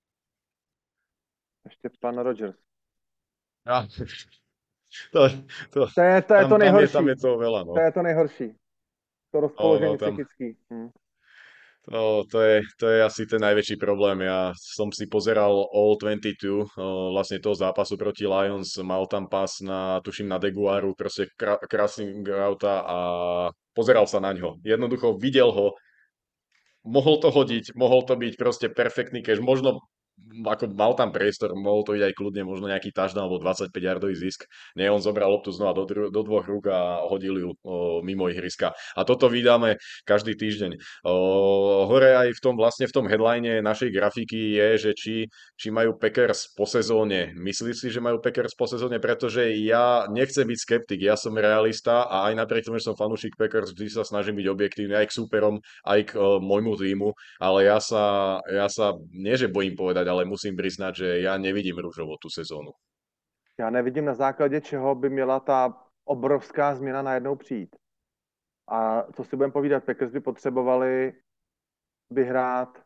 Ještě pan Rodgers. Ja, to, to, To je to, je tam, to tam, je, nejhorší. tam je toho veľa, no. To je to nejhorší. To rozpoložení O, tam, psychický. Hm. to, to, je, to je asi ten najväčší problém. Ja som si pozeral All dvadsaťdva, o, vlastne toho zápasu proti Lions, mal tam pas na, tuším, na Deguaru, proste krá, krásny auta a pozeral sa na ňo. Jednoducho videl ho, mohol to hodiť, mohol to byť proste perfektný cash, možno ako mal tam priestor, mohol to ísť aj kľudne, možno nejaký touchdown alebo dvadsaťpäť yardový zisk. Nie, on zobral loptu znova do, dru- do dvoch rúk a hodil ju o, mimo ihriska. A toto vydáme každý týždeň. O, hore aj v tom, vlastne v tom headline našej grafiky je, že či, či majú Packers po sezóne. Myslíš si, že majú Packers po sezóne? Pretože ja nechcem byť skeptik, ja som realista a aj napriek tomu, že som fanúšik Packers, vždy sa snažím byť objektívny aj k súperom, aj k o, môjmu týmu, ale ja sa, ja sa, nie že bojím povedať, ale musím priznať, že ja nevidím rúžovo tú sezónu. Já nevidím na základě čeho by měla ta obrovská změna najednou přijít. A co si budeme povídat, Packers by potřebovali vyhrát,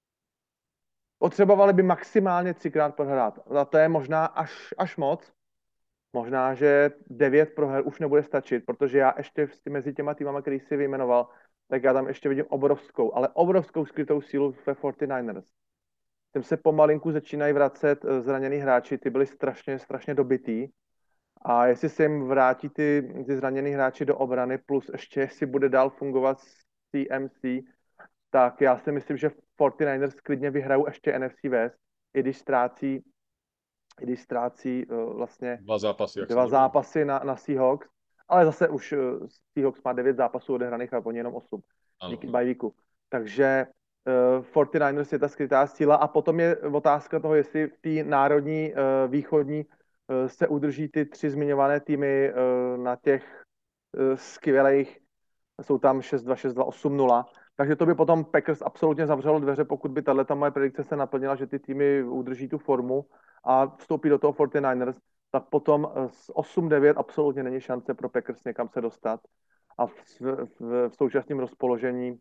potřebovali by maximálně třikrát prohrát. A to je možná až, až moc. Možná, že devět proher už nebude stačit, protože já ještě mezi těma týmama, který si vyjmenoval, tak já tam ještě vidím obrovskou, ale obrovskou skrytou sílu ve čtyřicátých ers. Tím se pomalinku začínají vracet zranění hráči, ty byli strašně, strašně dobitý. A jestli se jim vrátí ty, ty zranění hráči do obrany, plus ještě jestli bude dál fungovat C M C, tak já si myslím, že čtyřicátých ers klidně vyhrajou ještě N F C West, i když ztrácí, i když ztrácí uh, vlastně Dva zápasy, dva zápasy na, na Seahawks, ale zase už uh, Seahawks má devět zápasů odehraných a oni jenom osm díky bye weeku. Takže uh, čtyřicátých ers je ta skrytá síla a potom je otázka toho, jestli v té národní uh, východní uh, se udrží ty tři zmiňované týmy uh, na těch uh, skvělých, jsou tam šest dva, šest dva, osm nula, takže to by potom Packers absolutně zavřelo dveře, pokud by tato moje predikce se naplnila, že ty týmy udrží tu formu a vstoupí do toho čtyřicátých ers, tak potom z osm devět absolutně není šance pro Packers někam se dostat a v, v, v současném rozpoložení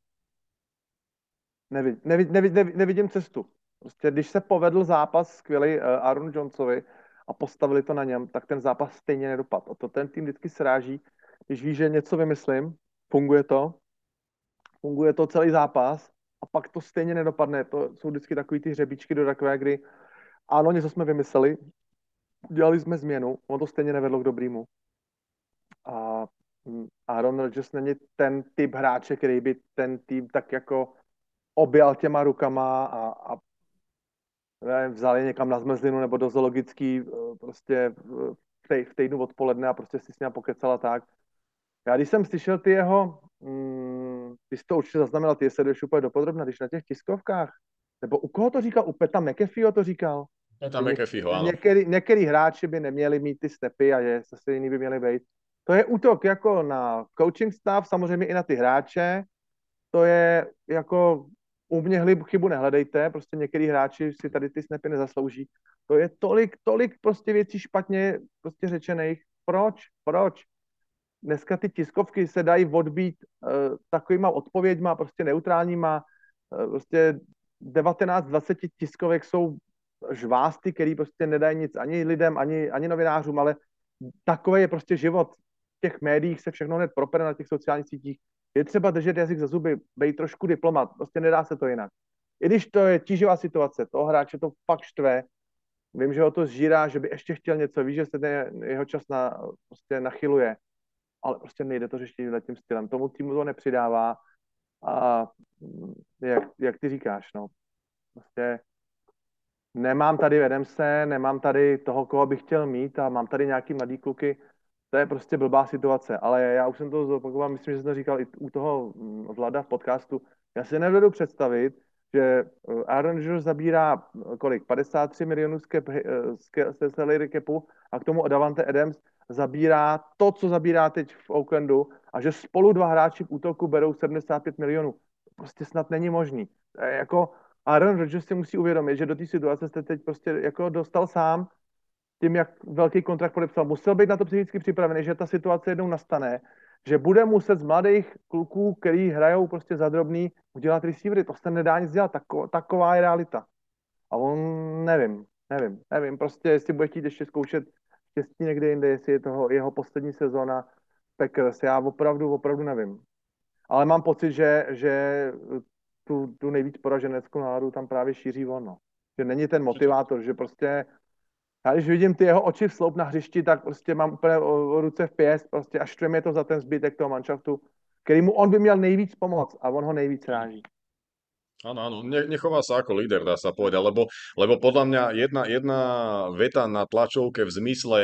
nevid, nevid, nevid, nevid, nevidím cestu. Prostě když se povedl zápas skvělý uh, Aaron Jonesovi a postavili to na něm, tak ten zápas stejně nedopad. A to ten tým vždycky sráží, když ví, že něco vymyslím, funguje to, funguje to celý zápas a pak to stejně nedopadne. To jsou vždycky takový ty hřebíčky do takové, kdy ano, něco jsme vymysleli, dělali jsme změnu, ono to stejně nevedlo k dobrýmu. A Aaron Rodgers není ten typ hráče, který by ten tým tak jako objal těma rukama a, a nevím, vzal je někam na zmrzlinu nebo do zoologický prostě v, tej, v týdnu odpoledne a prostě si s ním pokecala tak. Já když jsem slyšel ty jeho, mm, ty jsi to určitě zaznamenal, ty je sleduješ úplně dopodrobna, když na těch tiskovkách nebo u koho to říkal? U Peta McAfeeho to říkal? Je Že tam něk, McAfeeho, áno. některý, některý hráči by neměli mít ty stepy a že zase jiný by měli být. To je útok jako na coaching staff, samozřejmě i na ty hráče. To je jako u mě chybu nehledejte, prostě některý hráči si tady ty snapy nezaslouží. To je tolik, tolik prostě věcí špatně prostě řečených. Proč? Proč? Dneska ty tiskovky se dají odbít uh, takovýma odpověďma, prostě neutrálníma. Uh, prostě devatenáct dvacet tiskovek jsou žvásty, který prostě nedají nic ani lidem, ani, ani novinářům, ale takový je prostě život. V těch médiích se všechno hned propere na těch sociálních sítích. Je třeba držet jazyk za zuby, být trošku diplomat, prostě nedá se to jinak. I když to je tíživá situace, toho hráče to fakt štve, vím, že ho to zžírá, že by ještě chtěl něco, ví, že se ten jeho čas na, prostě nachyluje, ale prostě nejde to řešit tím stylem. Tomu týmu to nepřidává a jak, jak ty říkáš, no, prostě nemám tady Adamse, nemám tady toho, koho bych chtěl mít a mám tady nějaký mladý kluky, to je prostě blbá situace, ale já už jsem to zopakoval, myslím, že jsem to říkal i u toho Vlada v podcastu, já si nedovedu představit, že Aaron Rodgers zabírá kolik, padesát tři milionů z, cap, z salary capu a k tomu Davante Adams zabírá to, co zabírá teď v Oaklandu a že spolu dva hráči v útoku berou sedmdesát pět milionů. To prostě snad není možný. Jako Aaron Rodgers si musí uvědomit, že do té situace jste teď prostě jako dostal sám tím, jak velký kontrakt podepsal. Musel být na to psychicky připravený, že ta situace jednou nastane, že bude muset z mladých kluků, který hrajou prostě za drobný, udělat receivery. To se nedá nic dělat. Tako, taková je realita. A on nevím, nevím, nevím. Prostě jestli bude chtít ještě zkoušet štěstí někde jinde, jestli je toho jeho poslední sezóna Packers. Já opravdu, opravdu nevím. Ale mám pocit, že, že tu, tu nejvíc poraženeckou náladu tam právě šíří on. No. Že není ten motivátor, že prostě já když vidím ty jeho oči v sloup na hřišti, tak prostě mám úplně o, o ruce v pěst, prostě až štve mě to za ten zbytek toho manšaftu, který mu on by měl nejvíc pomoct a on ho nejvíc ráží. Áno, áno, ne, nechová sa ako líder, dá sa povedať, lebo, lebo podľa mňa jedna, jedna veta na tlačovke v zmysle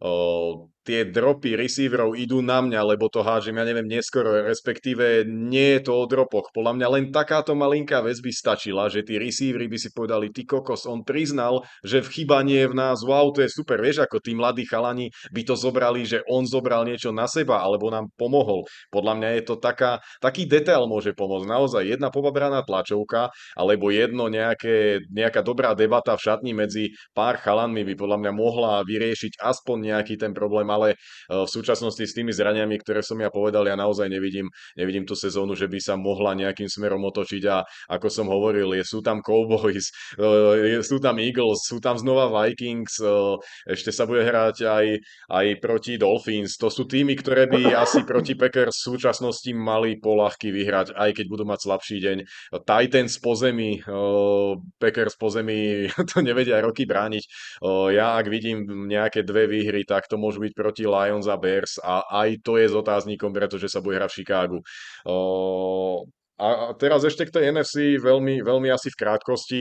o, tie dropy receiverov idú na mňa, lebo to hádžem, ja neviem, neskoro, respektíve nie je to o dropoch. Podľa mňa len takáto malinká vec by stačila, že tí receivery by si povedali, ty kokos, on priznal, že v chyba nie je v nás, wow, to je super, vieš, ako tí mladí chalani by to zobrali, že on zobral niečo na seba, alebo nám pomohol. Podľa mňa je to taká, taký detail môže pomôcť, naozaj jedna pobabraná tlačovka, alebo jedno nejaké, nejaká dobrá debata v šatni medzi pár chalanmi by podľa mňa mohla vyriešiť aspoň nejaký ten problém, ale v súčasnosti s tými zraniami, ktoré som ja povedal, ja naozaj nevidím, nevidím tú sezónu, že by sa mohla nejakým smerom otočiť a ako som hovoril, je, sú tam Cowboys, sú tam Eagles, sú tam znova Vikings, ešte sa bude hrať aj, aj proti Dolphins. To sú týmy, ktoré by asi proti Packers v súčasnosti mali poľahky vyhrať, aj keď budú mať slabší deň. Titans po zemi, uh, Packers po zemi, to nevedia roky brániť. Uh, ja ak vidím nejaké dve výhry, tak to môžu byť proti Lions a Bears a aj to je s otáznikom, pretože sa bude hrať v Chicagu. Uh, a teraz ešte k tej en ef cé veľmi, veľmi asi v krátkosti.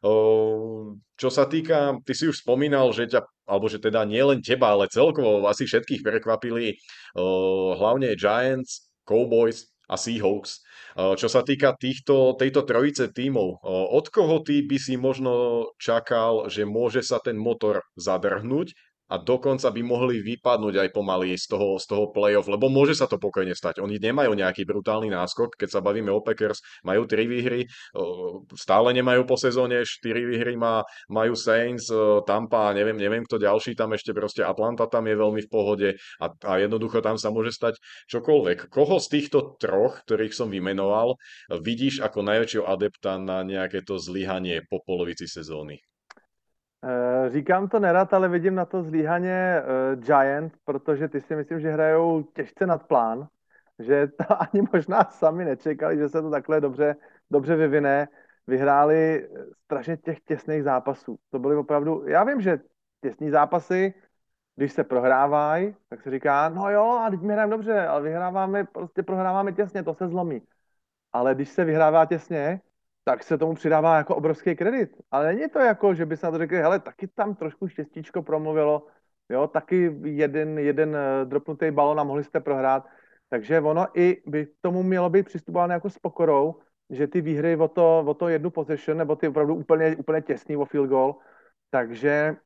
Uh, čo sa týka, ty si už spomínal, že ťa, alebo že teda nie len teba, ale celkovo asi všetkých prekvapili uh, hlavne Giants, Cowboys a Seahawks. Čo sa týka týchto, tejto trojice tímov, od koho ty by si možno čakal, že môže sa ten motor zadrhnúť a dokonca by mohli vypadnúť aj pomaly z toho, z toho playoff, lebo môže sa to pokojne stať. Oni nemajú nejaký brutálny náskok, keď sa bavíme o Packers, majú tri výhry, stále nemajú po sezóne, štyri výhry má, majú Saints, Tampa, neviem, neviem kto ďalší, tam ešte proste Atlanta tam je veľmi v pohode a, a jednoducho tam sa môže stať čokoľvek. Koho z týchto troch, ktorých som vymenoval, vidíš ako najväčšieho adepta na nejaké to zlyhanie po polovici sezóny? Říkám to nerad, ale vidím na to zlíhaně uh, Giant, protože ty si myslím, že hrajou těžce nad plán, že to ani možná sami nečekali, že se to takhle dobře, dobře vyvine. Vyhráli strašně těch těsných zápasů. To byly opravdu, já vím, že těsní zápasy, když se prohrávají, tak se říká, no jo, a teď my hrajeme dobře, ale vyhráváme, prostě prohráváme těsně, to se zlomí. Ale když se vyhrává těsně, tak se tomu přidává jako obrovský kredit. Ale není to jako, že by se na to řekli, hele, taky tam trošku štěstíčko promluvilo, jo, taky jeden, jeden dropnutý balon a mohli jste prohrát. Takže ono i by k tomu mělo být přistupováno jako s pokorou, že ty výhry o to, o to jednu possession, nebo ty opravdu úplně, úplně těsný o field goal, takže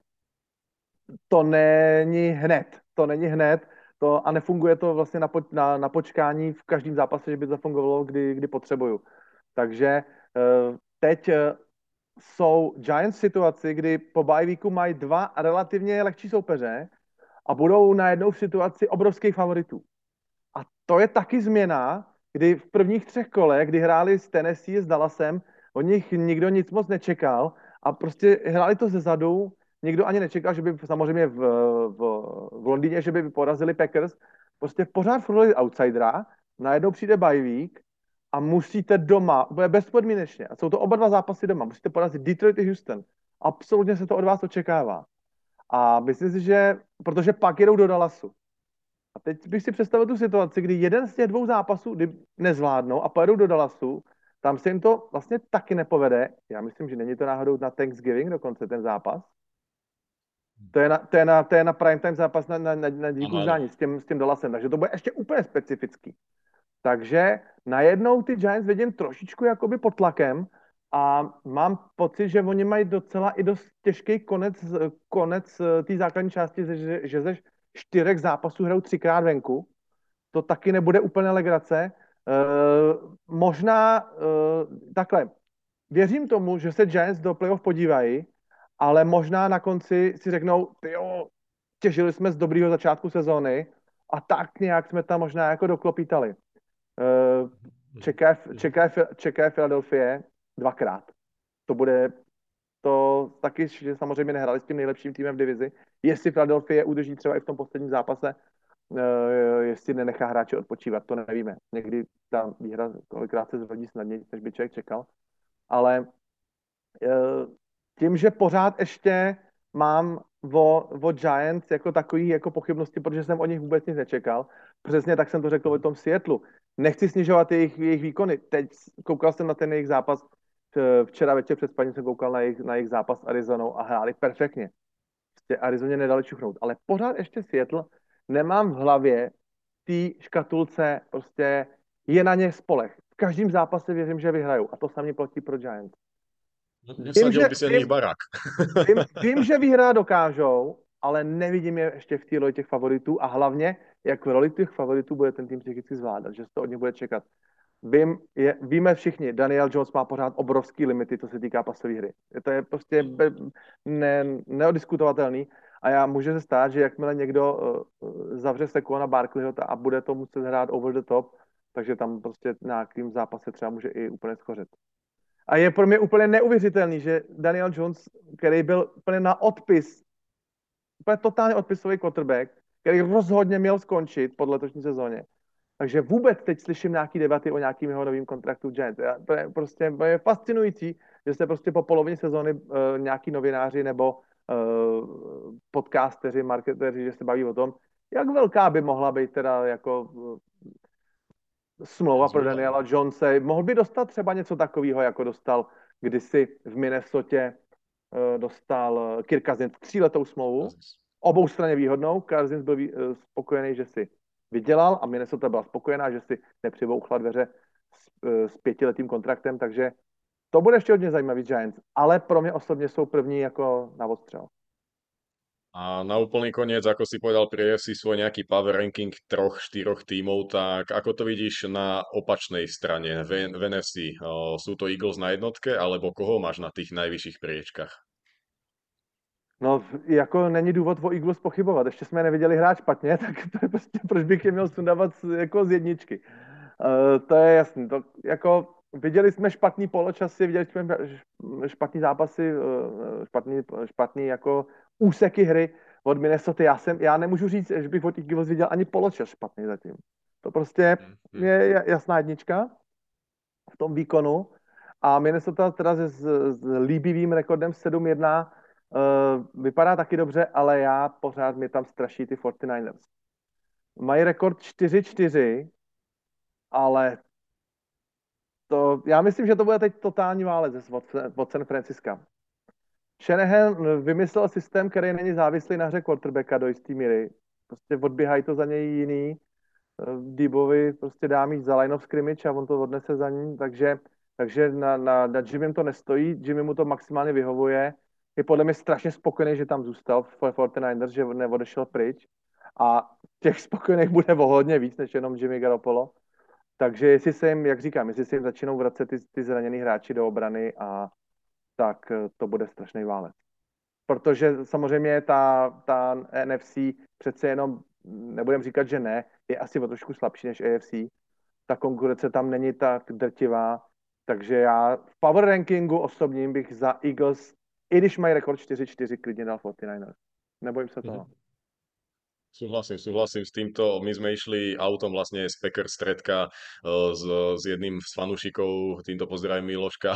to není hned. To není hned to, a nefunguje to vlastně na, po, na, na počkání v každém zápase, že by to zafungovalo, kdy, kdy potřebuju. Takže uh, teď uh, jsou Giants v situaci, kdy po bye weeku mají dva relativně lehčí soupeře a budou najednou v situaci obrovských favoritů. A to je taky změna, kdy v prvních třech kolech, kdy hráli s Tennessee, s Dallasem, od nich nikdo nic moc nečekal a prostě hráli to ze zadu, nikdo ani nečekal, že by samozřejmě v, v, v Londýně, že by porazili Packers, prostě pořád furt outsidera, najednou přijde bye week a musíte doma, bude bezpodmínečně, a jsou to oba dva zápasy doma, musíte porazit Detroit i Houston. Absolutně se to od vás očekává. A myslím si, že, protože pak jedou do Dallasu. A teď bych si představil tu situaci, kdy jeden z těch dvou zápasů kdy nezvládnou a pojedou do Dallasu, tam se jim to vlastně taky nepovede. Já myslím, že není to náhodou na Thanksgiving dokonce ten zápas. To je na, to je na, to je na prime time zápas na, na, na, na dílku vzdání s tím, s tím Dallasem, takže to bude ještě úplně specifický. Takže najednou ty Giants vidím trošičku jakoby pod tlakem a mám pocit, že oni mají docela i dost těžký konec, konec té základní části, že, že ze čtyřech zápasů hrajou třikrát venku. To taky nebude úplně legrace. Uh, možná uh, takhle. Věřím tomu, že se Giants do playoff podívají, ale možná na konci si řeknou, jo, těžili jsme z dobrýho začátku sezóny a tak nějak jsme tam možná jako doklopítali. Uh, čeká, čeká, čeká Philadelphia dvakrát. To bude to taky, že samozřejmě nehráli s tím nejlepším týmem v divizi. Jestli Philadelphia udrží třeba i v tom posledním zápase, uh, jestli nenechá hráče odpočívat, to nevíme. Někdy ta výhra kolikrát se zrodí snadněji, než by člověk čekal. Ale uh, tím, že pořád ještě mám o, o Giants jako takový jako pochybnosti, protože jsem o nich vůbec nic nečekal. Přesně tak jsem to řekl o tom Seattlu. Nechci snižovat jejich, jejich výkony. Teď koukal jsem na ten jejich zápas, včera večer před spaním jsem koukal na jejich, na jejich zápas s Arizonou a hráli perfektně. Prostě Arizoně nedali čuchnout. Ale pořád ještě Seattle nemám v hlavě té škatulce, prostě je na ně spolech. V každém zápase věřím, že vyhrajou. A to samé platí pro Giants. Vím, že, Nesadil by si vím, nich barák. vím, vím, že vyhrát dokážou, ale nevidím je ještě v té roli těch favoritů a hlavně, jak v roli těch favoritů bude ten tým psychicky zvládat, že se to od nich bude čekat. Vím, je, víme všichni, Daniel Jones má pořád obrovský limity, co se týká pasové hry. To je prostě be, ne, neodiskutovatelný a já může se stát, že jakmile někdo uh, zavře Sekona Barkleyho a bude to muset hrát over the top, takže tam prostě na nějakým zápase třeba může i úplně schořet. A je pro mě úplně neuvěřitelný, že Daniel Jones, který byl úplně na odpis, úplně totálně odpisový quarterback, který rozhodně měl skončit pod letošní sezóně. Takže vůbec teď slyším nějaký debaty o nějakým jeho novým kontraktu Giants. To je prostě to je fascinující, že se prostě po polovině sezóny uh, nějaký novináři nebo uh, podcasteři, marketéři, že se baví o tom, jak velká by mohla být teda jako uh, smlouva pro Daniela Jonese. Mohl by dostat třeba něco takového, jako dostal kdysi v Minnesotě uh, dostal Kirk Cousins tříletou smlouvu, obou straně výhodnou. Cousins byl uh, spokojený, že si vydělal a Minnesota byla spokojená, že si nepřibouchla dveře s, uh, s pětiletým kontraktem, takže to bude ještě hodně zajímavý Giants, ale pro mě osobně jsou první jako na odstřel. A na úplný koniec, ako si povedal pri ef cé svoj nejaký power ranking troch, štyroch tímov, tak ako to vidíš na opačnej strane v, v en ef cé? O, sú to Eagles na jednotke, alebo koho máš na tých najvyšších priečkách? No, jako není důvod o Eagles pochybovat. Ještě jsme je neviděli hrát špatně, tak to je prostě, proč bych je měl sundávat jako z jedničky. Uh, to je jasný. To, jako, viděli jsme špatný poločasy, viděli jsme špatný zápasy, uh, špatný, špatný jako úseky hry od Minnesota. Já, jsem, já nemůžu říct, že bych od těch Eagles viděl ani poločas špatný zatím. To prostě Hmm. je jasná jednička v tom výkonu. A Minnesota teda s, s líbivým rekordem sedm jedna uh, vypadá taky dobře, ale já pořád mě tam straší ty čtyřicet devěters. Mají rekord čtyři čtyři, ale to, já myslím, že to bude teď totální válec od, od San Francisca. Shanahan vymyslel systém, který není závislý na hře quarterbacka do jistý míry. Prostě odběhají to za něj jiný. Debovi prostě dá mít za line of scrimmage a on to odnese za ní, takže Takže na, na, na Jimmym to nestojí, Jimmy mu to maximálně vyhovuje. Je podle mě strašně spokojený, že tam zůstal v čtyřicátých ers, že neodešel pryč. A těch spokojených bude o hodně víc, než jenom Jimmy Garoppolo. Takže jestli se jim, jak říkám, jestli se jim začínou vracet ty, ty zraněný hráči do obrany, a tak eh, to bude strašný válec. Protože samozřejmě ta, ta N F C přece jenom, nebudem říkat, že ne, je asi o trošku slabší než A F C. Ta konkurence tam není tak drtivá, takže já v power rankingu osobním bych za Eagles, i když mají rekord čtyři čtyři, klidně dal čtyřicátých ers. Nebojím se toho. Súhlasím, súhlasím s týmto. My sme išli autom vlastne z Packers stredka eh, s, s jedným z fanúšikov, týmto pozdravím Miloška,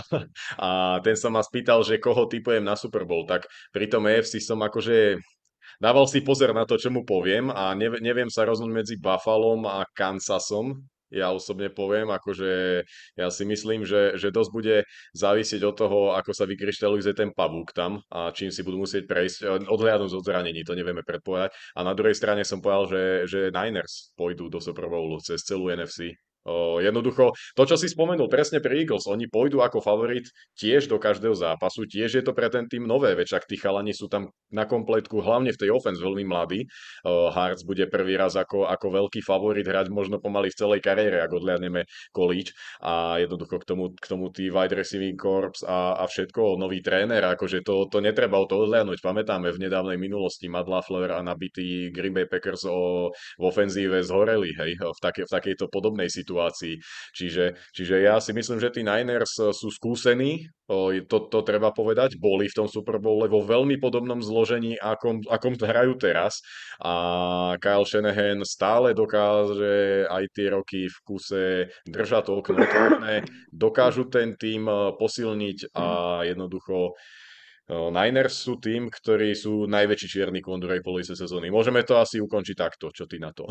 a ten sa ma spýtal, že koho typujem na Super Bowl, tak pri tom A F C som akože dával si pozor na to, čo mu poviem a nev- neviem sa rozhodnúť medzi Buffalom a Kansasom. Ja osobne poviem, akože ja si myslím, že, že dosť bude závisieť od toho, ako sa vykryštalizuje ten pavúk tam a čím si budú musieť prejsť, eh, odhliadnúť od zranení, to nevieme predpovedať. A na druhej strane som povedal, že, že Niners pôjdu do Super Bowlu cez celú N F C. O, jednoducho, to, čo si spomenul presne pri Eagles, oni pôjdu ako favorit tiež do každého zápasu, tiež je to pre ten tým nové, veď ak tí chalani sú tam na kompletku, hlavne v tej offense veľmi mladí. O, Hartz bude prvý raz ako, ako veľký favorit hrať možno pomaly v celej kariére, ak odliadneme college, a jednoducho k tomu, k tomu tí wide receiving corps a, a všetko, nový tréner, akože to, to netreba o to odliadnúť. Pamätáme v nedávnej minulosti Matt LaFleur a nabitý Green Bay Packers o, v ofenzíve zhoreli, hej, v, take, v takejto podobnej situácii. Čiže, čiže ja si myslím, že tí Niners sú skúsení, o, to, to treba povedať, boli v tom Super Bowle vo veľmi podobnom zložení, akom, akom hrajú teraz, a Kyle Shanahan stále dokáže aj tie roky v kuse držať to okno otvorené, dokážu ten tým posilniť a jednoducho Niners sú tým, ktorí sú najväčší čierny kôň druhej polovice sezóny. Môžeme to asi ukončiť takto, čo ty na to?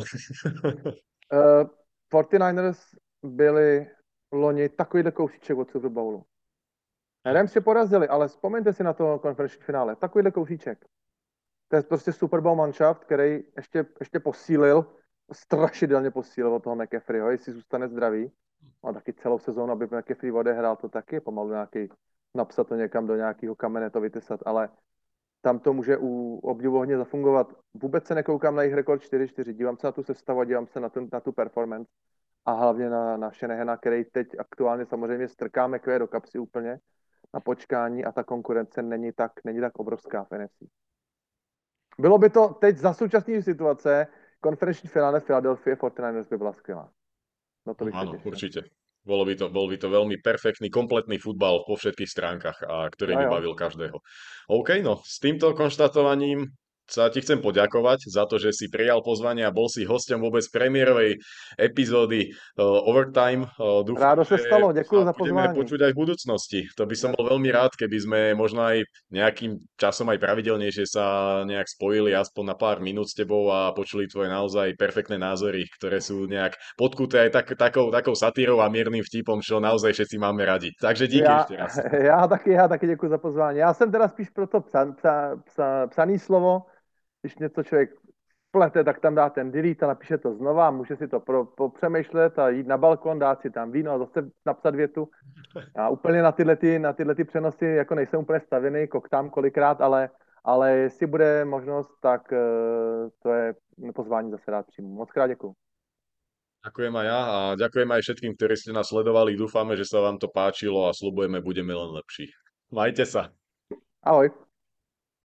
Uh, čtyřicátých ers byli loni takovýhle kousíček od Super Bowlu. Rams si porazili, ale vzpomeňte si na to konferenční finále. Takovýhle kousíček. To je prostě Super Bowl manšaft, který ještě, ještě posílil, strašidelně posílil od toho McCaffreyho, jestli zůstane zdravý. A taky celou sezónu, aby McCaffrey odehrál, to taky pomalu nějaký, napsat to někam do nějakého kamene, to vytesat, ale tam to může u obdivuhodně zafungovat. Vůbec se nekoukám na jejich rekord čtyři čtyři, dívám se na tu sestavu a dívám se na tu, na tu performance a hlavně na, na Shanahana, který teď aktuálně samozřejmě strká McVay do kapsy úplně na počkání a ta konkurence není tak, není tak obrovská v N F C. Bylo by to teď za současné situace, konferenční finále Philadelphia čtyřicátých ers by byla skvělá. No to bych Áno, těšil. určite. Bolo by to, bol by to veľmi perfektný, kompletný futbal po všetkých stránkach, a ktorý Jo, by jo. bavil každého. OK, no s týmto konštatovaním sa ti chcem poďakovať za to, že si prijal pozvanie a bol si hosťom vôbec premiérovej epizódy uh, Overtime. Uh, dúfam, Rádo se že stalo, děkuji sa za budeme pozvání. počuť aj v budúcnosti. To by som bol veľmi rád, keby sme možno aj nejakým časom aj pravidelnejšie sa nejak spojili aspoň na pár minút s tebou a počuli tvoje naozaj perfektné názory, ktoré sú nejak podkuté aj tak, takou, takou satírou a miernym vtipom, čo naozaj všetci máme radi. Takže díky Já, ešte raz. já taky, já taky děkuji za pozvání. Já jsem teda spíš pro to psa, psa, psa, psaný slovo, když něco člověk plete, tak tam dá ten delete a napíše to znova, může si to pro, popřemýšlet a jít na balkon, dát si tam víno a zase napsat větu. A úplně na tyhle, ty, na tyhle ty přenosy jako nejsem úplně stavěný, koktám kolikrát, ale, ale jestli bude možnost, tak uh, to je pozvání zase rád přijmu. Moc krát děkuji. Ďakujem aj ja a ďakujem aj všetkým, ktorí ste nás sledovali. Dúfame, že sa vám to páčilo a slubujeme, budeme len lepší. Majte sa. Ahoj.